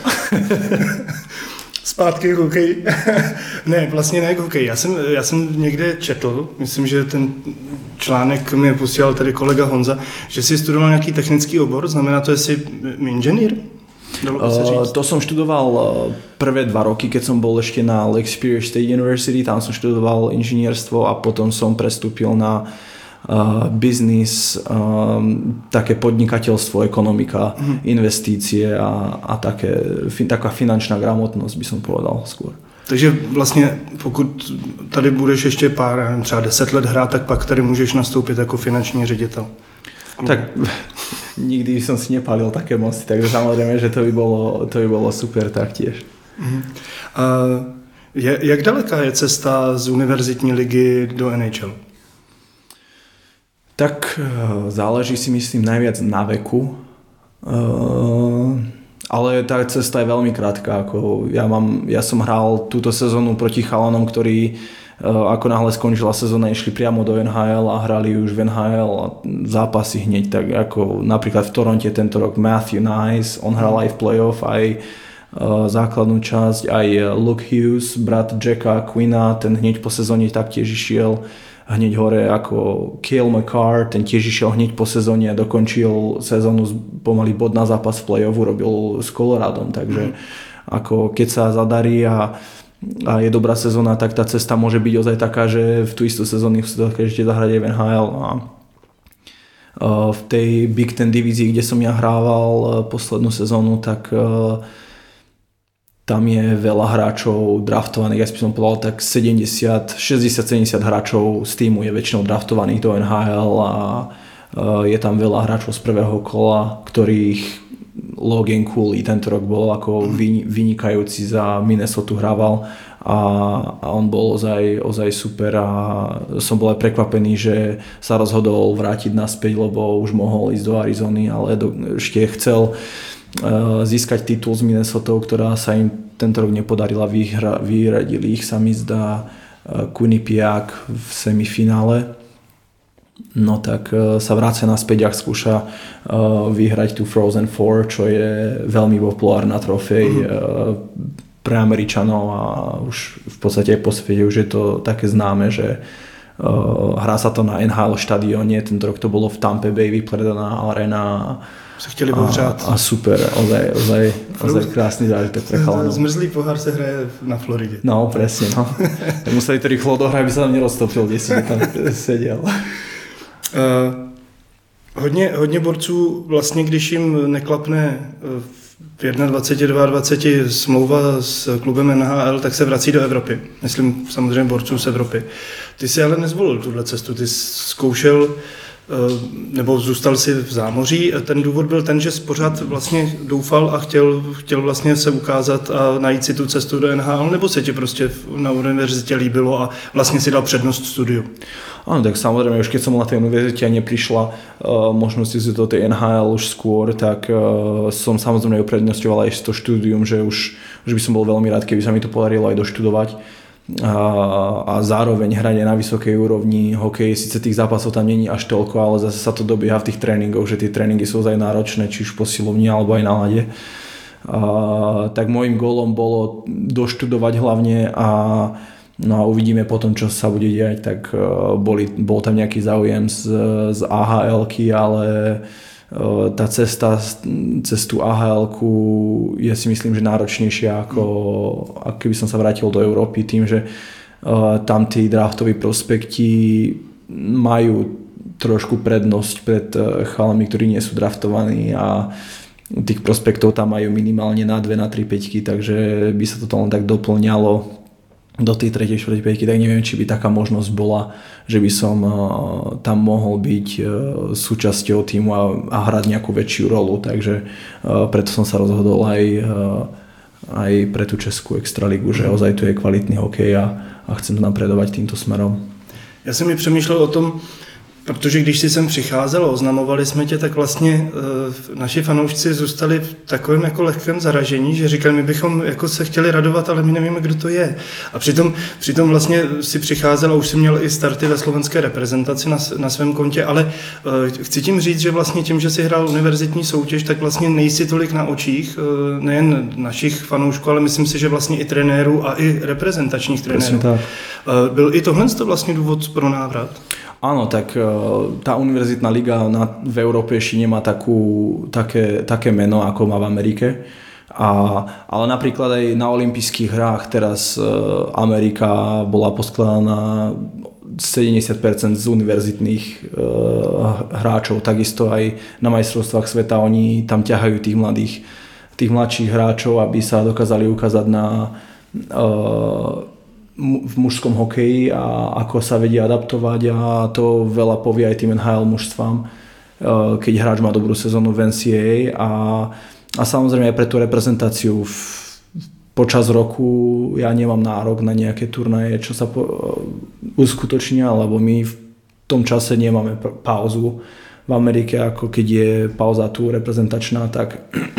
Zpátky k hokeji. Ne, vlastně ne k hokeji. Já jsem, já jsem někde četl, myslím, že ten článek mi posílal tady kolega Honza, že jsi studoval nějaký technický obor, znamená to, že jsi inženýr? Uh, to som študoval prvé dva roky, keď som bol ešte na Lake Superior State University, tam som študoval inžinierstvo a potom som prestúpil na uh, biznis, um, také podnikateľstvo, ekonomika, mm. investície a, a také, fin, taká finančná gramotnosť by som povedal skôr. Takže vlastně pokud tady budeš ještě pár, nevím, třeba deset let hrát, tak pak tady můžeš nastoupit jako finanční ředitel. Tak nikdy som si nepálil také mosty, takže samozrejme, že to by bolo, to by bolo super taktiež. Uh-huh. A je, jak daleká je cesta z univerzitní ligy do en há el? Tak záleží si myslím najviac na veku. Uh, ale tá cesta je veľmi krátka. Ako ja, mám, ja som hral túto sezónu proti chalanom, ktorí uh, ako náhle skončila sezóna, išli priamo do en há el a hrali už v en há el a zápasy hneď. Tak ako napríklad v Toronte tento rok Matthew Nice, on hral aj v playoff, aj uh, základnú časť, aj Luke Hughes, brat Jacka Quinna, ten hneď po sezóne taktiež išiel hneď hore ako Cale Makar, ten tiež išiel hneď po sezóne a dokončil sezónu pomaly bod na zápas v play-offu, robil s Coloradom, takže mm. ako keď sa zadarí a, a je dobrá sezóna, tak tá cesta môže byť ozaj taká, že v tú istú sezónu sa ešte zahrať aj v en há el a v tej Big Ten divízii, kde som ja hrával poslednú sezónu, tak tam je veľa hráčov draftovaných, ja by som povedal tak sedemdesiat, šesťdesiat sedemdesiat hráčov z týmu je väčšinou draftovaných do en há el a je tam veľa hráčov z prvého kola, ktorých Logan Cooley tento rok bol ako vynikajúci za Minnesota hrával a, a on bol ozaj, ozaj super a som bol aj prekvapený, že sa rozhodol vrátiť naspäť, lebo už mohol ísť do Arizony, ale do, ešte chcel získať titul z Minnesota, ktorá sa im tento rok nepodarila, vyhra, vyradili ich sa mi zdá Quinnipiac v semifinále, no tak sa vrácia naspäť a skúša vyhrať tú Frozen Four, čo je veľmi populárna trofej mm-hmm. pre Američanov a už v podstate aj po svete už je to také známe, že hrá sa to na en há el štadióne, tento rok to bolo v Tampa Bay vypredaná arena se chtěli pohřát. A, a super, ozaj, ozaj, ozaj krásny zážitok pre chalanov. Zmrzlý pohár se hraje na Floridě. No, presne, no. Tak museli to rýchlo odohrať, aby sa tam neroztopil, kde si tam seděl. Uh, hodně, hodně borců vlastně, když jim neklapne v dvacet jedna, dvacet dva smlouva s klubem en há el, tak se vrací do Evropy. Myslím samozřejmě borců z Evropy. Ty si ale nezvolil tuhle cestu, ty zkoušel nebo zůstal si v zámoří. Ten důvod byl ten, že pořád vlastně doufal a chtěl, chtěl vlastně se ukázat a najít si tu cestu do en há el, nebo se ti prostě na univerzitě líbilo a vlastně si dal přednost studiu? Áno, tak samozrejme, už keď som na tej univerzite a neprišla uh, možnosť ísť do tej en há el už skôr, tak uh, som samozrejme uprednostňoval aj to štúdium, že už, už by som bol veľmi rád, keby sa mi to podarilo aj doštudovať. A, a zároveň hrať aj na vysokej úrovni hokej, síce tých zápasov tam není až toľko, ale zase sa to dobieha v tých tréningoch, že tie tréningy sú aj náročné, či už posilovni alebo aj na ľade. A, tak môjim gólom bolo doštudovať hlavne a, no a uvidíme potom, čo sa bude diať, tak boli, bol tam nejaký záujem z, z á há elky, ale tá cesta cez tú á há elku je si myslím, že náročnejšia ako, ako keby som sa vrátil do Európy tým, že uh, tam tí draftoví prospekti majú trošku prednosť pred uh, chalami, ktorí nie sú draftovaní a tých prospektov tam majú minimálne na dve, na tri peťky, takže by sa to len tak doplňalo do tej tretej, štvrtej päťky, tak neviem, či by taká možnosť bola, že by som uh, tam mohol byť uh, súčasťou týmu a, a hrať nejakú väčšiu rolu, takže uh, preto som sa rozhodol aj, uh, aj pre tú českú extraligu, že ozaj tu je kvalitný hokej a, a chcem napredovať týmto smerom. Já jsem mi přemýšlel o tom, protože když jsi sem přicházel a oznamovali jsme tě, tak vlastně e, naši fanoušci zůstali v takovém jako lehkém zaražení, že říkali, my bychom jako se chtěli radovat, ale my nevíme, kdo to je. A přitom, přitom vlastně si přicházel a už si měl i starty ve slovenské reprezentaci na, na svém kontě, ale e, chci tím říct, že vlastně tím, že si hrál univerzitní soutěž, tak vlastně nejsi tolik na očích, e, nejen našich fanoušků, ale myslím si, že vlastně i trenérů a i reprezentačních trenérů. E, byl i tohle vlastně důvod pro návrat? Áno, tak tá univerzitná liga na, v Európe ešte nemá takú, také, také meno, ako má v Amerike. A, ale napríklad aj na olympijských hrách teraz Amerika bola poskladaná sedemdesiat percent z univerzitných uh, hráčov. Takisto aj na majstrovstvách sveta oni tam ťahajú tých mladých, tých mladších hráčov, aby sa dokázali ukázať na uh, v mužskom hokeji a ako sa vedia adaptovať a to veľa povie aj tým en há el mužstvám, keď hráč má dobrú sezónu v en cé á á a, a samozrejme aj pre tú reprezentáciu v, počas roku ja nemám nárok na nejaké turnaje, čo sa po, uskutočnia, lebo my v tom čase nemáme pauzu v Amerike, ako keď je pauza tu reprezentačná, tak,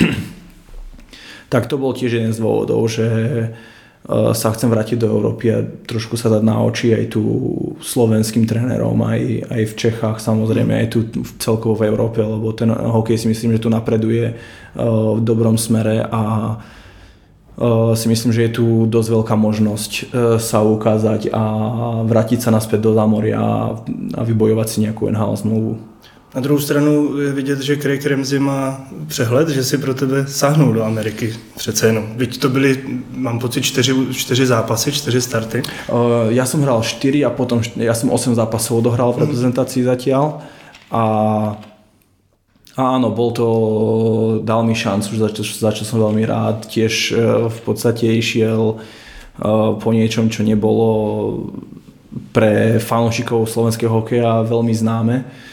tak to bol tiež jeden z dôvodov, že sa chcem vrátiť do Európy a trošku sa dať na oči aj tu slovenským trénerom, aj, aj v Čechách, samozrejme aj tu celkovo v Európe, lebo ten hokej si myslím, že tu napreduje v dobrom smere a si myslím, že je tu dosť veľká možnosť sa ukázať a vrátiť sa naspäť do zámoria a vybojovať si nejakú en há el zmluvu. Na druhou stranu je vidět, že Craig Ramsey má přehled, že si pro tebe sáhnul do Ameriky přece jenom. Byť to byly, mám pocit, čtyři, čtyři zápasy, čtyři starty. Uh, ja som hral štyri a potom ja som osem zápasov odohral v reprezentácii zatiaľ a, a áno, bol to, dal mi šancu, za čo, za čo som veľmi rád. Tiež uh, v podstate išiel uh, po niečom, čo nebolo pre fanúšikov slovenského hokeja veľmi známe.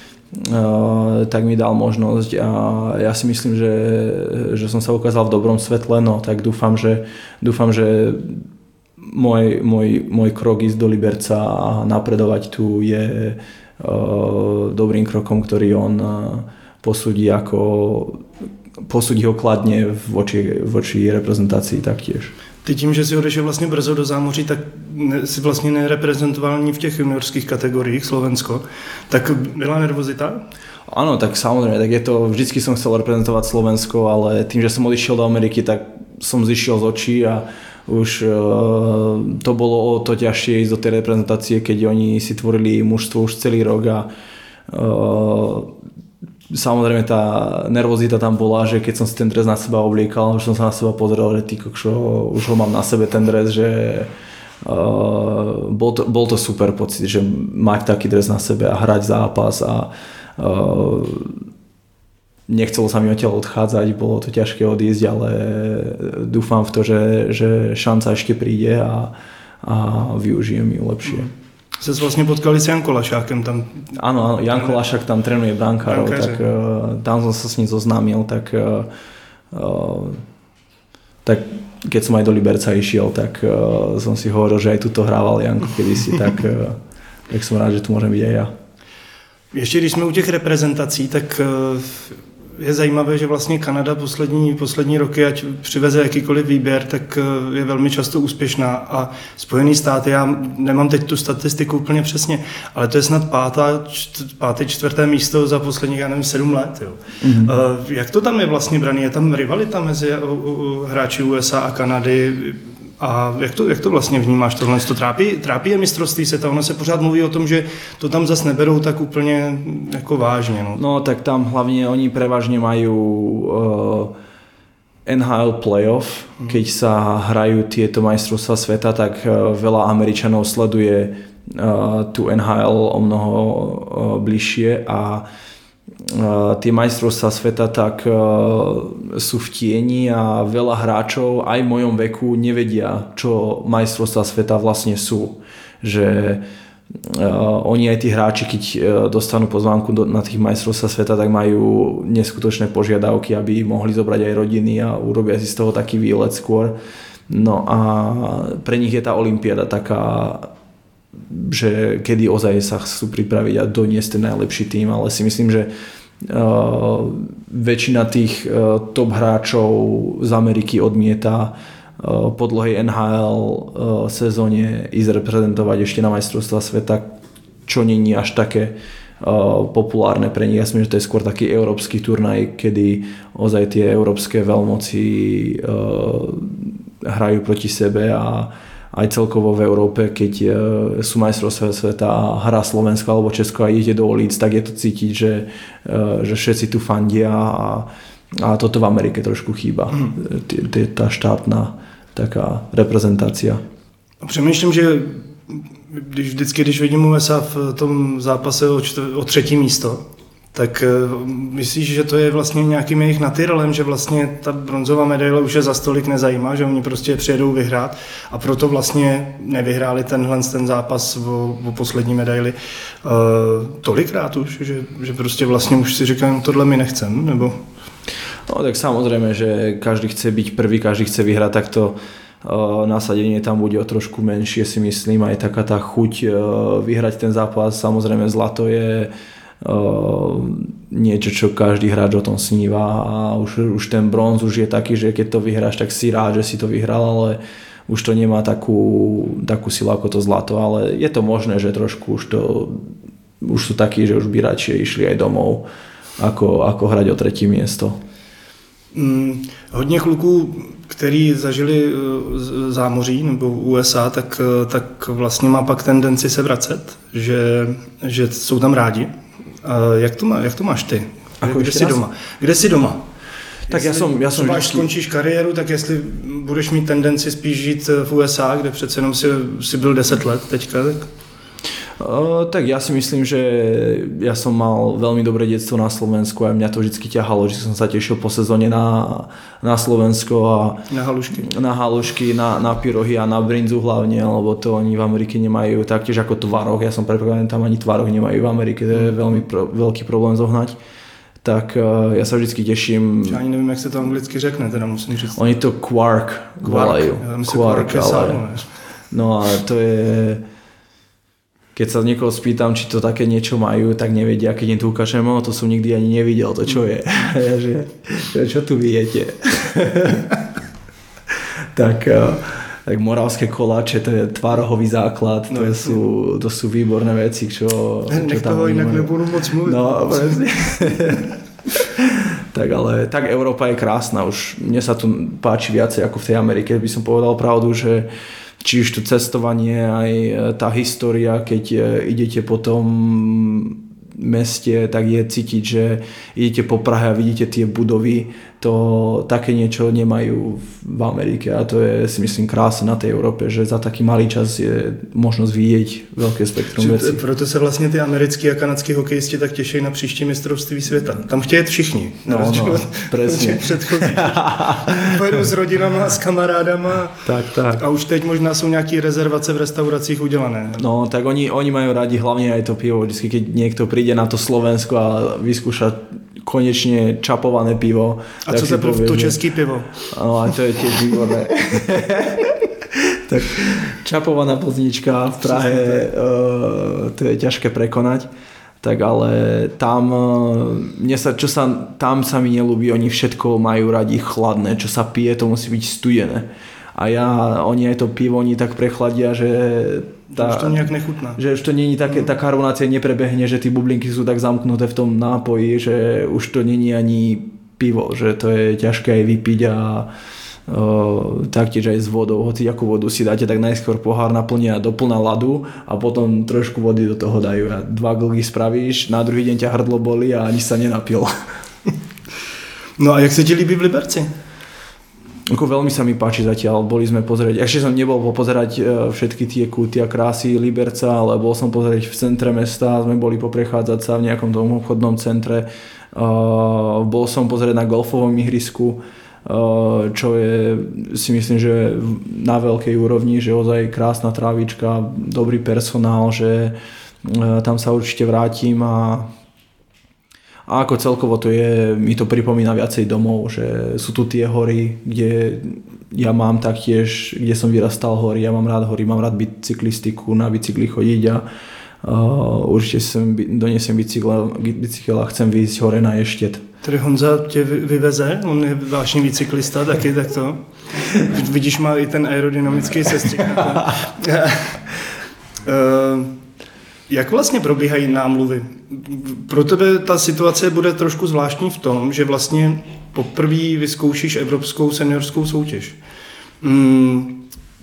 Uh, tak mi dal možnosť a ja si myslím, že, že som sa ukázal v dobrom svetle, no tak dúfam, že, dúfam, že môj, môj, môj krok ísť do Liberca a napredovať tu je uh, dobrým krokom, ktorý on uh, posúdi ako posúdi ho kladne voči, voči reprezentácii taktiež. Ty tím, že si odešel vlastně brzo do zámoří, tak si vlastně nereprezentoval ani v těch juniorských kategoriích Slovensko. Tak byla nervozita? Áno, tak samozrejme, tak je to, vždycky som chcel reprezentovať Slovensko, ale tým, že som odišiel do Ameriky, tak som zišiel z očí a už uh, to bolo o to ťažšie ísť do tej reprezentácie, keď oni si tvorili mužstvo už celý rok a uh, samozrejme tá nervozita tam bola, že keď som si ten dres na seba obliekal, už som sa na seba pozrel, že ty kokšo, už ho mám na sebe ten dres, že uh, bol, to, bol to super pocit, že mať taký dres na sebe a hrať zápas a uh, nechcelo sa mi odtiaľ odchádzať, bolo to ťažké odísť, ale dúfam v to, že, že šanca ešte príde a, a využijem ju lepšie. Se vlastně potkali s Janko Lašákem tam. Áno, áno, Janko Lašák tam trénuje brankárov, tak uh, tam som sa s ním zoznámil, tak, uh, uh, tak keď som aj do Liberca išiel, tak uh, som si hovoril, že aj tuto hrával Janko kedysi, tak, uh, tak som rád, že tu môžem byť aj ja. Ještě když jsme u těch reprezentací, tak uh, je zajímavé, že vlastně Kanada poslední, poslední roky, ať přiveze jakýkoliv výběr, tak je velmi často úspěšná a Spojený státy, já nemám teď tu statistiku úplně přesně, ale to je snad pátá, páté, čtvrté místo za posledních, já nevím, sedm let. Jo. Mm-hmm. Jak to tam je vlastně braný? Je tam rivalita mezi hráči U S A a Kanady? A jak to, jak to vlastně vnímáš tohle? To trápí, trápí je mistrovství světa? Ono se pořád mluví o tom, že to tam zas neberou tak úplně jako vážně. No, no tak tam hlavně oni prevažne majú uh, en há el playoff. Hmm. Keď sa hrajú tieto majstrovstvá sveta, tak uh, veľa Američanov sleduje uh, tu en há el o mnoho uh, bližšie a Uh, tie majstrovstvá sveta tak uh, sú v tieni a veľa hráčov aj v mojom veku nevedia, čo majstrovstvá sveta vlastne sú. Že uh, oni aj tí hráči, keď uh, dostanú pozvánku do, na tých majstrovstvá sveta, tak majú neskutočné požiadavky, aby mohli zobrať aj rodiny a urobia si z toho taký výlet skôr. No a pre nich je tá olympiáda taká, že kedy ozaj sa chcú pripraviť a doniesť ten najlepší tým, ale si myslím, že uh, väčšina tých uh, top hráčov z Ameriky odmieta uh, po dlhej en há el uh, sezóne ísť reprezentovať ešte na majstrovstvá sveta, čo nie je až také uh, populárne pre nich. Ja myslím, že to je skôr taký európsky turnaj, kedy ozaj tie európske veľmoci uh, hrajú proti sebe a aj celkovo v Európe, keď sú majstrovstvá sveta a hrá Slovensko alebo Česko a ide do ulic, tak je to cítiť, že, že všetci tu fandia a, a toto v Amerike trošku chýba. Mm. Tá štátna taká reprezentácia. Přemýšlím, že když, vždycky, když vidím U S A v tom zápase o, čtv- o třetí místo, tak myslíš, že to je vlastně nějakým jejich natyrelem, že vlastně ta bronzová medaile už je za stolik nezajímá, že oni prostě přijedou vyhrát a proto vlastně nevyhráli tenhle ten zápas o, o poslední medaili uh, tolikrát už, že, že prostě vlastně už si říkají, tohle my nechcem, nebo... No tak samozrejme, že každý chce byť prvý, každý chce vyhrať, tak to nasadenie tam bude o trošku menšie, si myslím, aj taká tá chuť vyhrať ten zápas. Samozrejme zlato je niečo, čo každý hráč o tom sníva a už, už ten bronz už je taký, že keď to vyhráš, tak si rád, že si to vyhral, ale už to nemá takú, takú silu ako to zlato, ale je to možné, že trošku už to už sú takí, že už by radšej išli aj domov, ako, ako hrať o třetí miesto. Hmm, hodně kluků, který zažili zámoří nebo U S A, tak, tak vlastně má pak tendenci se vracet, že, že jsou tam rádi. Jak to, má, jak to máš ty? Ako Kde jsi raz? doma? Kde jsi doma? Tak jestli já jsem, já jsem třeba vždycky... až skončíš kariéru, tak jestli budeš mít tendenci spíš žít v U S A, kde přece jenom si, si byl deset let teďka, tak... Uh, tak ja si myslím, že ja som mal veľmi dobré detstvo na Slovensku a mňa to vždy ťahalo, že som sa tešil po sezóne na, na Slovensko a na halušky, na, halušky na, na pyrohy a na brinzu hlavne, lebo to oni v Amerike nemajú, taktiež ako tvaroh, ja som predpokladaný, tam ani tvaroh nemajú v Amerike, to je veľmi pro, veľký problém zohnať. Tak uh, ja sa vždycky teším. Já ani nevím, jak se to anglicky řekne, teda musím říct. Oni to quark volajú. Quark, quark ale... No a to je... Keď sa niekoho spýtam, či to také niečo majú, tak nevedia, keď im to ukážem, no to som nikdy ani nevidel, to čo je. že, že čo tu viete? tak, tak moravské koláče, to je tvárohový základ, to, no, sú, to sú výborné veci, čo, čo Nech tam toho inak nebudú moc mluviť. No, presne. tak ale, tak Európa je krásna, už mne sa tu páči viacej ako v tej Amerike, by som povedal pravdu, že či už to cestovanie, aj tá história, keď idete po tom meste, tak je cítiť, že idete po Prahe a vidíte tie budovy, to také niečo nemajú v Amerike a to je, si myslím, krásne na tej Európe, že za taký malý čas je možnosť vidieť veľké spektrum vecí. Proto se vlastně ty americký a kanadský hokejisti tak těší na příští mistrovství světa. Tam chtějí všichni. No, no, presne. Pojedu s rodinama, s kamarádama. Tak, tak. A už teď možná jsou nějaký rezervace v restauracích udělané. No, tak oni, oni majú radi hlavne aj to pivo. Vždycky, keď niekto príde na to Slovensko a vyskúša konečne čapované pivo. A co se povie, to český pivo? No a to je tiež výborné. tak čapovaná poznička v Prahe, uh, to je ťažké prekonať. Tak ale tam, mne sa, čo sa, tam sa mi nelúbi, oni všetko majú radi chladné, čo sa pije, to musí byť studené. A ja, oni aj to pivo, oni tak prechladia, že tá, už to nejak nechutná. Že už to není také, tá karbonácia neprebehne, že tí bublinky sú tak zamknuté v tom nápoji, že už to není ani pivo, že to je ťažké aj vypiť a o, taktiež aj s vodou, hoci akú vodu si dáte, tak najskôr pohár naplnia do plná ľadu a potom trošku vody do toho dajú a dva glgy spravíš, na druhý deň ťa hrdlo bolí a ani sa nenapil. No a jak sa ti líbí v Liberci? Ako veľmi sa mi páči zatiaľ, boli sme pozrieť, ešte som nebol popozerať všetky tie kúty a krásy Liberca, ale bol som pozrieť v centre mesta, sme boli poprechádzať sa v nejakom tom obchodnom centre, uh, bol som pozrieť na golfovom ihrisku, uh, čo je, si myslím, že na veľkej úrovni, že ozaj krásna trávička, dobrý personál, že uh, tam sa určite vrátim a A ako celkovo to je, mi to pripomína viacej domov, že sú tu tie hory, kde ja mám taktiež, kde som vyrastal hory, ja mám rád hory, mám rád bicyklistiku, na bicykli chodiť a uh, určite sem donesem bicykel, bicykel a chcem vyjsť hore na Ještěd. Tedy Honza tě vyveze, on je vážný bicyklista taky, tak to. Vidíš, má i ten aerodynamický sestřih. uh, Jak vlastně probíhají námluvy? Pro tebe ta situace bude trošku zvláštní v tom, že vlastně poprvé vyzkoušíš evropskou seniorskou soutěž. Hmm.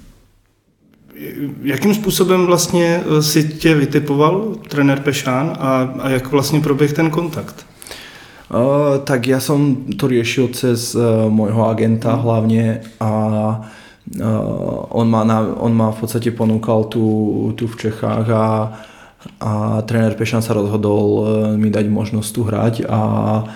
Jakým způsobem vlastně si tě vytipoval trenér Pešán a, a jak vlastně proběh ten kontakt? Uh, tak ja som to riešil cez uh, môjho agenta hmm. hlavne a uh, on, ma na, on ma v podstate ponúkal tu, tu v Čechách a a tréner Pešan sa rozhodol mi dať možnosť tu hrať a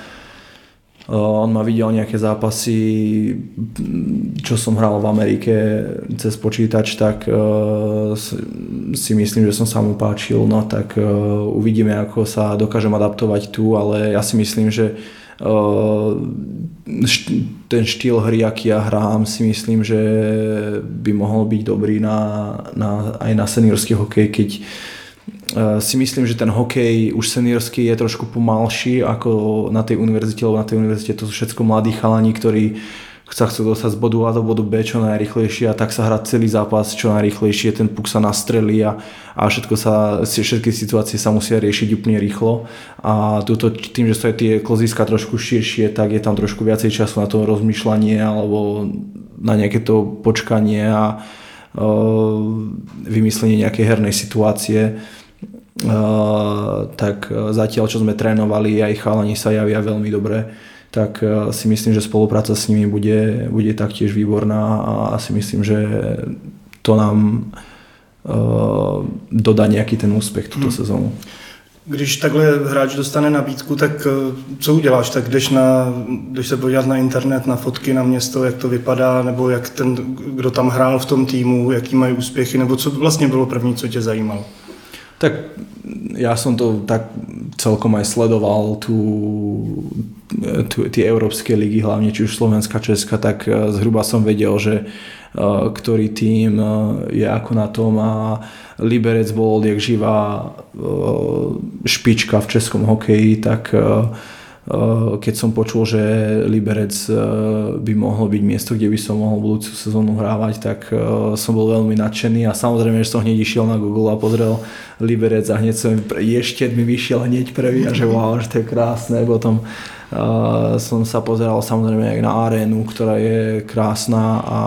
on ma videl nejaké zápasy, čo som hral v Amerike cez počítač, tak si myslím, že som sa mu páčil, no tak uvidíme, ako sa dokážem adaptovať tu, ale ja si myslím, že ten štýl hry, aký ja hrám, si myslím, že by mohol byť dobrý na, na, aj na seniorský hokej, keď si myslím, že ten hokej už seniorský je trošku pomalší ako na tej univerzite, lebo na tej univerzite to sú všetko mladí chalani, ktorí sa chcú dostať z bodu A do bodu B čo najrýchlejšie a tak sa hrá celý zápas čo najrýchlejšie, ten puk sa nastrelí a, a všetko sa, všetky situácie sa musia riešiť úplne rýchlo a tuto, tým, že sú aj tie kloziska trošku širšie, tak je tam trošku viacej času na to rozmýšľanie alebo na nejaké to počkanie a uh, vymyslenie nejakej hernej situácie. Uh, tak zatiaľ, čo sme trénovali, aj chalani sa javia veľmi dobre, tak si myslím, že spolupráca s nimi bude, bude taktiež výborná a si myslím, že to nám uh, dodá nějaký ten úspěch tuto hmm. sezónu. Když takhle hráč dostane nabídku, tak co uděláš? Tak jdeš, na, jdeš se podívat na internet, na fotky, na město, jak to vypadá, nebo jak ten, kdo tam hrál v tom týmu, jaký mají úspěchy, nebo co vlastně bylo první, co tě zajímalo? Tak ja som to tak celkom aj sledoval tu, tu tie európske ligy, hlavne či už Slovenska, Česka, tak zhruba som vedel, že uh, ktorý tím uh, je ako na tom a Liberec bol odjak živá uh, špička v českom hokeji, tak uh, keď som počul, že Liberec by mohlo byť miesto, kde by som mohol budúcu sezónu hrávať, tak som bol veľmi nadšený a samozrejme, že som hneď išiel na Google a pozrel Liberec a hneď som ešte mi vyšiel hneď prvý a že wow, že to je krásne. Potom uh, som sa pozeral samozrejme aj na arénu, ktorá je krásna a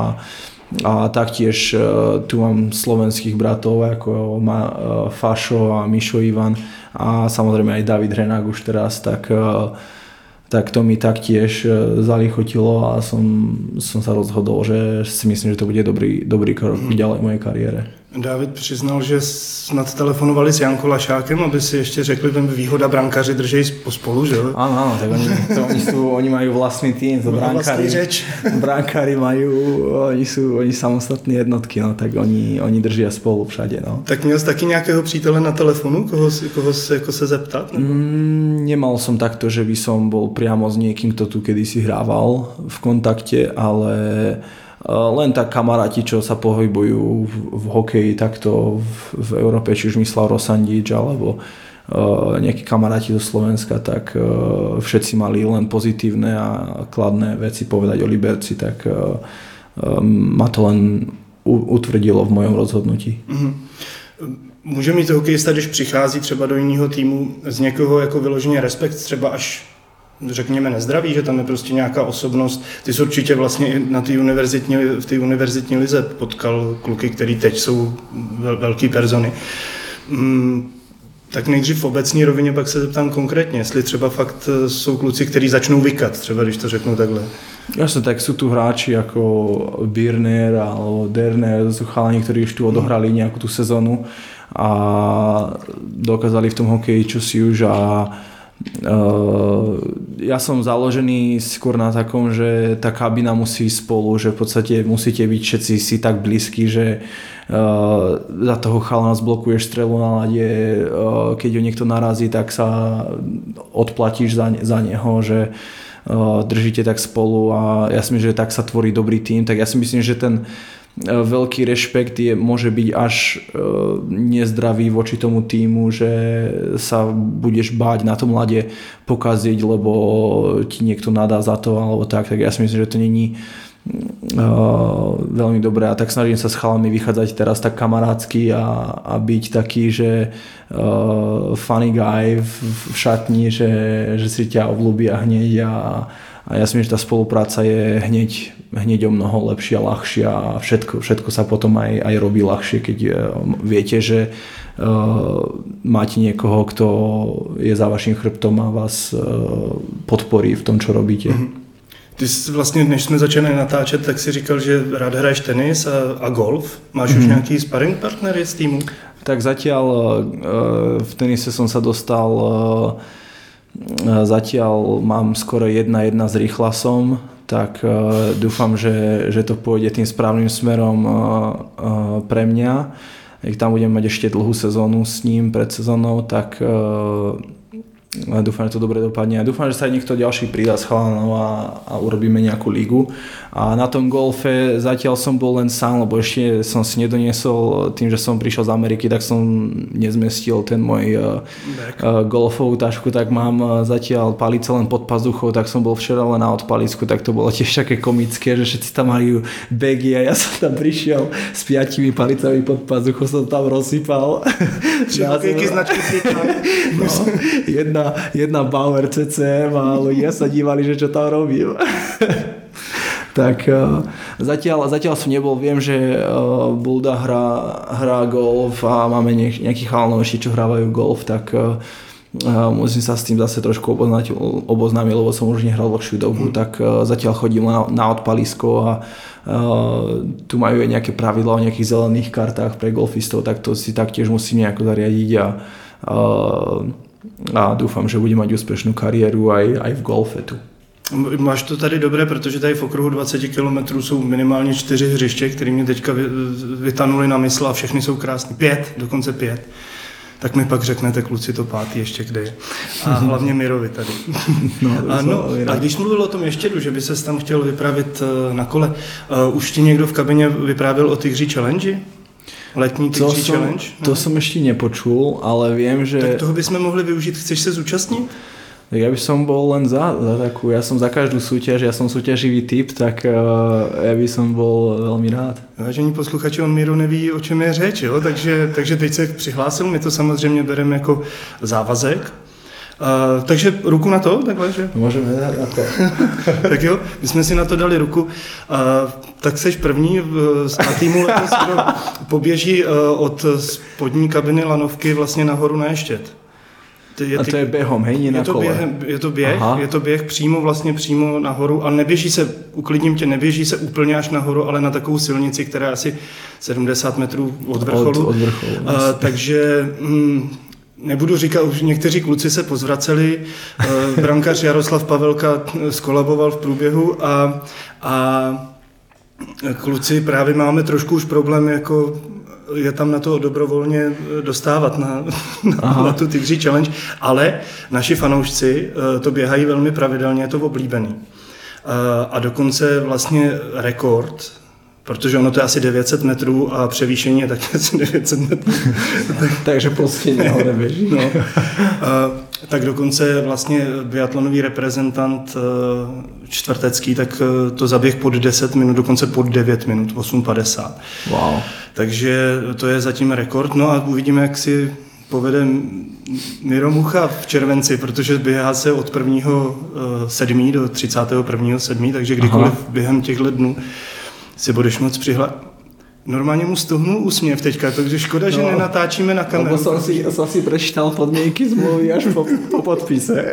a taktiež uh, tu mám slovenských bratov ako ma, uh, Fašo a Mišo Ivan a samozrejme aj David Hrenák už teraz, tak, uh, tak to mi taktiež uh, zalichotilo a som, som sa rozhodol, že si myslím, že to bude dobrý, dobrý krok mm. ďalej v mojej kariére. David přiznal, že snad telefonovali s Jankou Lašákem, aby si ještě řekli, že výhoda brankáři drží pospolu, že jo? Áno, áno, tak oni, to, oni, sú, oni majú vlastný tým, to brankári, brankári majú, oni sú oni samostatné jednotky, no, tak oni, oni držia spolu všade. No. Tak měl jsi taky nějakého přítele na telefonu, koho, koho se, jako se zeptat? Mm, nemal som takto, že by som bol priamo s niekým, kto tu kedysi hrával v kontakte, ale len tak kamaráti, čo sa pohybujú v, v hokeji takto v, v Európe, či už myslel Rosandič alebo uh, nejakí kamaráti zo Slovenska, tak uh, všetci mali len pozitívne a kladné veci povedať o Liberci, tak uh, uh, ma to len u, utvrdilo v mojom rozhodnutí. Mm-hmm. Může mít hokejista, když přichází třeba do jiného týmu, z někoho jako vyloženě respekt, třeba až řekněme nezdraví, že tam je prostě nějaká osobnost. Ty jsi určitě vlastně na té univerzitní, v té univerzitní lize potkal kluky, který teď jsou vel, velký persony. Hmm, tak nejdřív v obecní rovině, pak se zeptám konkrétně, jestli třeba fakt jsou kluci, kteří začnou vykat, třeba když to řeknu takhle. Jasne, tak sú tu hráči ako Birner alebo Derner, to sú chalani, ktorí už tu odohrali nejakú tú sezónu a dokázali v tom hokeji čosi už a Uh, ja som založený skôr na takom, že tá kabina musí ísť spolu, že v podstate musíte byť všetci si tak blízky, že uh, za toho chalana zblokuješ strelu na lade, uh, keď ho niekto narazí, tak sa odplatíš za, za neho, že uh, držíte tak spolu a ja si myslím, že tak sa tvorí dobrý tím, tak ja si myslím, že ten veľký rešpekt je, môže byť až e, nezdravý voči tomu týmu, že sa budeš báť na tom ľade pokaziť, lebo ti niekto nadá za to alebo tak, tak ja si myslím, že to není e, veľmi dobré a tak snažím sa s chalami vychádzať teraz tak kamarátsky a, a byť taký, že e, funny guy v, v šatni, že, že si ťa obľúbia hneď a A ja si myslím, že tá spolupráca je hneď, hneď o mnoho lepšia, ľahšia a všetko, všetko sa potom aj, aj robí ľahšie, keď viete, že uh, máte niekoho, kto je za vaším chrbtom a vás uh, podporí v tom, čo robíte. Mm-hmm. Ty jsi vlastně, než jsme začali natáčet, tak si říkal, že rád hraješ tenis a, a golf. Máš mm-hmm. už nějaký sparring partnery z týmu? Tak zatiaľ uh, v tenise som sa dostal uh, Zatiaľ mám skoro jedna jedna s Rýchlasom, tak uh, dúfam, že, že to pôjde tým správnym smerom uh, uh, pre mňa. Ak tam budem mať ešte dlhú sezónu s ním pred sezónou, tak uh, A dúfam, že to dobre dopadne a dúfam, že sa aj niekto ďalší pridá s chalanov a, a urobíme nejakú ligu. A na tom golfe zatiaľ som bol len sám, lebo ešte som si nedoniesol, tým, že som prišiel z Ameriky, tak som nezmestil ten môj uh, golfovú tašku, tak mám zatiaľ palice len pod pazuchou, tak som bol včera len na odpalisku, tak to bolo tiež také komické, že všetci tam majú bagy a ja som tam prišiel s piatimi palicami pod pazuchou, som tam rozsypal. Všetky značky no, jedna, jedna Bauer cé cé em a ľudia sa dívali, že čo tam robím. Tak uh, zatiaľ, zatiaľ som nebol, viem, že uh, Bulda hrá, hrá golf a máme niek- nejakých chalanov ešte, čo hrávajú golf, tak uh, uh, musím sa s tým zase trošku oboznať, oboznámiť, lebo som už nehral dlhšiu dobu, mm. tak uh, zatiaľ chodím na, na odpalisko a uh, tu majú aj nejaké pravidlá o nejakých zelených kartách pre golfistov, tak to si taktiež musím nejako zariadiť a uh, a dúfam, že budem mať úspešnú kariéru aj, aj v golfe tu. Máš to tady dobré, protože tady v okruhu dvacet kilometrů jsou minimálně čtyři hřiště, které mě teďka vytanuly na mysl a všechny jsou krásné. Pět, dokonce pět. Tak mi pak řeknete, kluci, to pátý ještě kde je. A hlavně Mirovi tady. No, a, no, a když mluvil o tom Ještědu, že by ses tam chtěl vypravit na kole, uh, už ti někdo v kabině vyprávěl o Tigří Challenge? Letní Tigří som, Challenge? To no. som ešte nepočul, ale viem, že... Tak toho bychom mohli využiť. Chceš sa zúčastniť? Ja by som bol len za, za takú, ja som za každú súťaž, ja som súťaživý typ, tak uh, ja by som bol veľmi rád. Vážení posluchači, on Miro neví, o čem je řeč, jo? Takže, takže teď se přihlásil, my to samozřejmě bereme jako závazek. Uh, takže ruku na to, takhle, že? Môžeme dať na to. Tak jo, my jsme si na to dali ruku. Uh, tak seš první na týmu letos, kdo poběží uh, od spodní kabiny lanovky vlastně nahoru na Ještěd. Je a to je běhom, hej, nie na je to kole. Běh, je to běh, je to běh přímo vlastně přímo nahoru a neběží se, uklidním tě, neběží se úplně až nahoru, ale na takovou silnici, která je asi sedmdesát metrů od vrcholu. Od, od vrcholu. Uh, takže... Mm, Nebudu říkat, už někteří kluci se pozvraceli, brankář Jaroslav Pavelka skolaboval v průběhu a, a kluci právě máme trošku už problém, jako je tam na to dobrovolně dostávat na, na, na tu Tigří Challenge, ale naši fanoušci to běhají velmi pravidelně, je to oblíbený. A dokonce vlastně rekord, protože ono to je asi devět set metrů a převýšení je taky asi devět set metrů. Takže prostě něho neběží. No. A, tak dokonce vlastně biatlonový reprezentant čtvrtecký, tak to zaběh pod deset minut, dokonce pod devět minut, osm padesát. Wow. Takže to je zatím rekord. No a uvidíme, jak si povede Miro Mucha v červenci, protože běhá se od prvního sedmého do třicátého prvního sedmého takže kdykoliv Aha. během těchto dnů si budeš moc přihlásit. Normálně mu stohnul úsměv teďka, takže škoda, no, že nenatáčíme na kameru. Lebo som si, som si prečítal podmienky zmluvy až po, po podpise.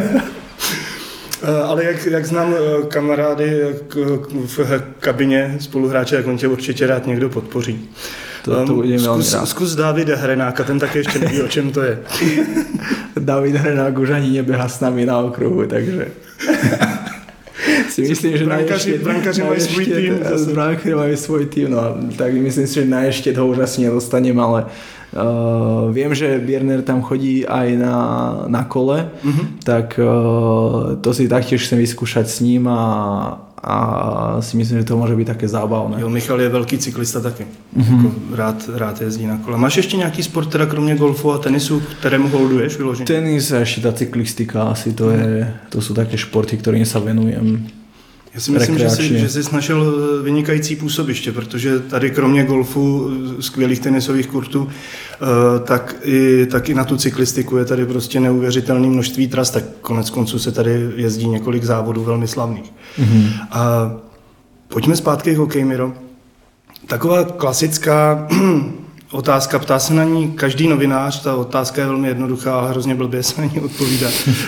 Ale jak, jak znám kamarády v kabině spoluhráče, tak on tě určitě rád někdo podpoří. To, to budem veľmi zkus, rád. Zkus Davida Hrenáka, ten také ještě neví, o čem to je. David Hrenák už ani neběhá s nami na okruhu, takže... si myslím, že brankáři, brankáři mají svůj tým. Brankáři mají svůj tým, no tak myslím si, že na Ještěd ho už asi nedostanem, ale uh, viem, že Bierner tam chodí aj na, na kole, mm-hmm. tak uh, to si taktiež chcem vyskúšať s ním a, a si myslím, že to môže byť také zábavné. Jo, Michal je velký cyklista taky. Mm-hmm. Jako rád, rád jezdí na kole. Máš ještě nějaký sport, teda kromě golfu a tenisu, kterému holduješ vyloženě? Tenis a ešte tá cyklistika, asi to, je, to sú také športy, ktorým sa venujem. Já si myslím, že jsi, že jsi našel vynikající působiště, protože tady kromě golfu, skvělých tenisových kurtů, tak i, tak i na tu cyklistiku je tady prostě neuvěřitelné množství tras, tak konec konců se tady jezdí několik závodů velmi slavných. Mm-hmm. A pojďme zpátky k hokeji, Miro. Taková klasická otázka, ptá se na ní každý novinář, ta otázka je velmi jednoduchá, ale hrozně blbě se na ní odpovídá.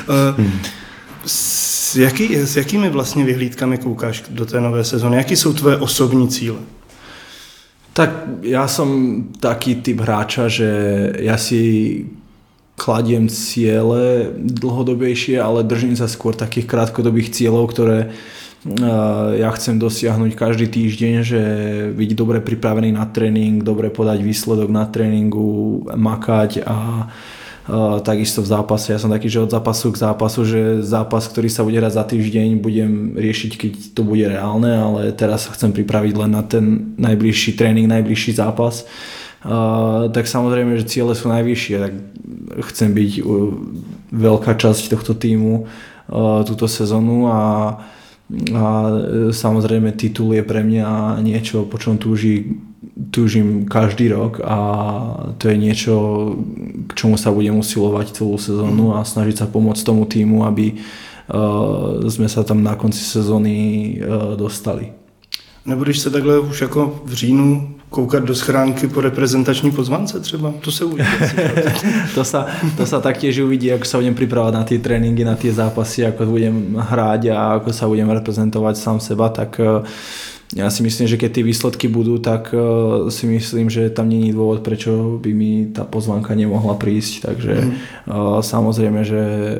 S, jaký, s jakými vlastně vyhlídkami koukáš do té nové sezóny? Jaký jsou tvoje osobní cíle? Tak ja som taký typ hráča, že ja si kladiem ciele dlhodobejšie, ale držím sa skôr takých krátkodobých cieľov, ktoré ja chcem dosiahnuť každý týždeň, že byť dobre pripravený na tréning, dobre podať výsledok na tréningu, makať a Uh, takisto v zápase, ja som taký, že od zápasu k zápasu, že zápas, ktorý sa bude hrať za týždeň, budem riešiť, keď to bude reálne, ale teraz sa chcem pripraviť len na ten najbližší tréning, najbližší zápas. Uh, tak samozrejme, že ciele sú najvyššie, tak chcem byť uh, veľká časť tohto týmu uh, túto sezónu a a samozrejme titul je pre mňa niečo, po čom túži, túžim každý rok a to je niečo, k čomu sa budem usilovať celú sezónu a snažiť sa pomôcť tomu týmu, aby uh, sme sa tam na konci sezóny uh, dostali. Nebudeš se takhle už jako v říjnu koukat do schránky po reprezentační pozvánce třeba? To se uvidí. to, sa, to sa taktiež uvidí, ako sa budem pripravať na tie tréningy, na tie zápasy, ako budem hrať a ako sa budem reprezentovať sám seba, tak ja si myslím, že keď tie výsledky budú, tak si myslím, že tam nie je dôvod, prečo by mi tá pozvánka nemohla prísť. Takže mm. samozrejme, že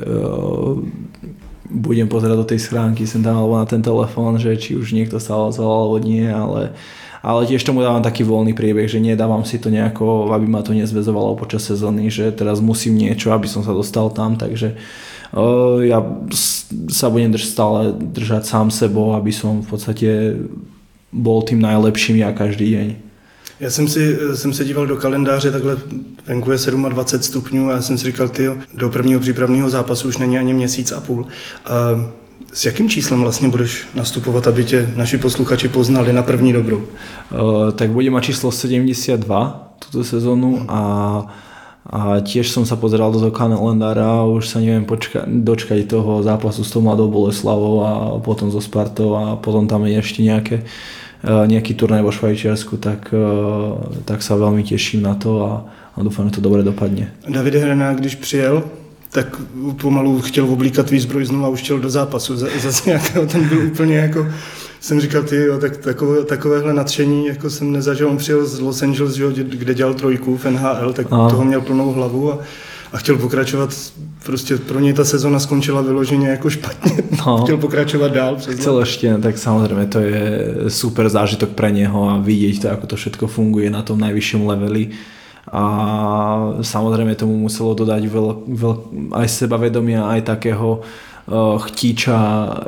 budem pozerať do tej schránky sem tam alebo na ten telefón, že či už niekto sa ozval alebo nie, ale, ale tiež tomu dávam taký voľný priebeh, že nedávam si to nejako, aby ma to nezväzovalo počas sezóny, že teraz musím niečo, aby som sa dostal tam, takže uh, ja sa budem drž- stále držať sám sebou, aby som v podstate bol tým najlepším ja každý deň. Já jsem, si, jsem se díval do kalendáře, takhle venku je dvacet sedm stupňů a já jsem si říkal, tyjo, do prvního přípravného zápasu už není ani měsíc a půl. A s jakým číslem vlastně budeš nastupovat, aby tě naši posluchači poznali na první dobrou? Uh, tak budem mať číslo sedemdesiatdva túto sezónu a, a tiež som sa pozeral do toho kalendára a už sa neviem počka- dočkať toho zápasu s tou Mladou Boleslavou a potom so Spartou a potom tam je ešte nejaké nejaký turnaj vo Švajčiarsku, tak, tak sa veľmi teším na to a, a dúfam, že to dobre dopadne. David Hranák, když přijel, tak pomalu chtěl oblíkat výzbroj znovu a už chtěl do zápasu. Zase nějakého, ten byl úplně jako, jsem říkal, ty jo, tak takové, takovéhle nadšení, jako jsem nezažil, on přijel z Los Angeles, kde dělal trojku v N H L, tak a. toho měl plnou hlavu a a chtěl pokračovat, prostě pro něj ta sezona skončila vyloženě jako špatně, no, chtěl pokračovat dál. Chcel ešte, tak samozrejme to je super zážitok pre neho a vidieť to, ako to všetko funguje na tom najvyššom leveli a samozrejme tomu muselo dodať veľ, veľ, aj sebavedomia, aj takého uh, chtíča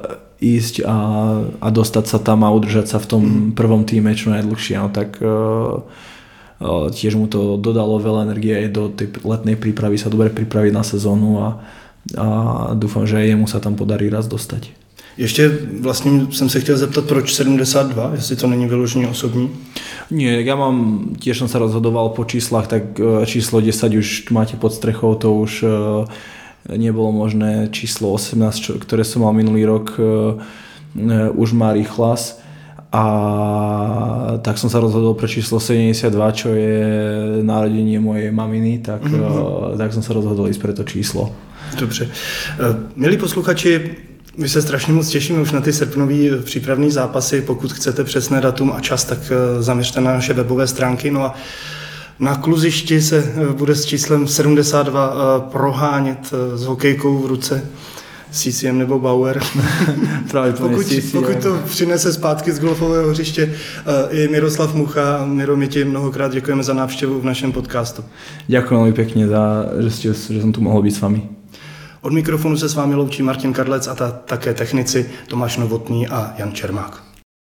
ísť a, a dostať sa tam a udržať sa v tom mm. prvom týme čo najdlhšie, no tak uh, tiež mu to dodalo veľa energie aj do tej letnej prípravy sa dobre pripraviť na sezónu a, a dúfam, že jemu sa tam podarí raz dostať. Ještě vlastně jsem se chtěl zeptat, proč sedmdesát dva, jestli to není vyloženě osobní? Nie, ja mám, tiež som sa rozhodoval po číslach, tak číslo desať už máte pod strechou, to už nebolo možné, číslo osemnásť, ktoré som mal minulý rok, už má rýchlas. A tak som sa rozhodol pre číslo sedemdesiatdva, čo je narodenie mojej maminy, tak, mm-hmm. tak som sa rozhodol ísť pre to číslo. Dobře. Milí posluchači, my se strašně moc těšíme už na ty srpnový přípravný zápasy. Pokud chcete přesné datum a čas, tak zaměřte na naše webové stránky. No a na kluzišti se bude s číslem sedmdesát dva prohánět s hokejkou v ruce C C M nebo Bauer. pokud, pokud to přinese zpátky z golfového hřiště i Miroslav Mucha. Miro, my ti mnohokrát děkujeme za návštěvu v našem podcastu. Ďakujem veľmi pekne, za, že, ste, že som tu mohol byť s vami. Od mikrofonu se s vámi loučí Martin Kadlec a ta, také technici Tomáš Novotný a Jan Čermák.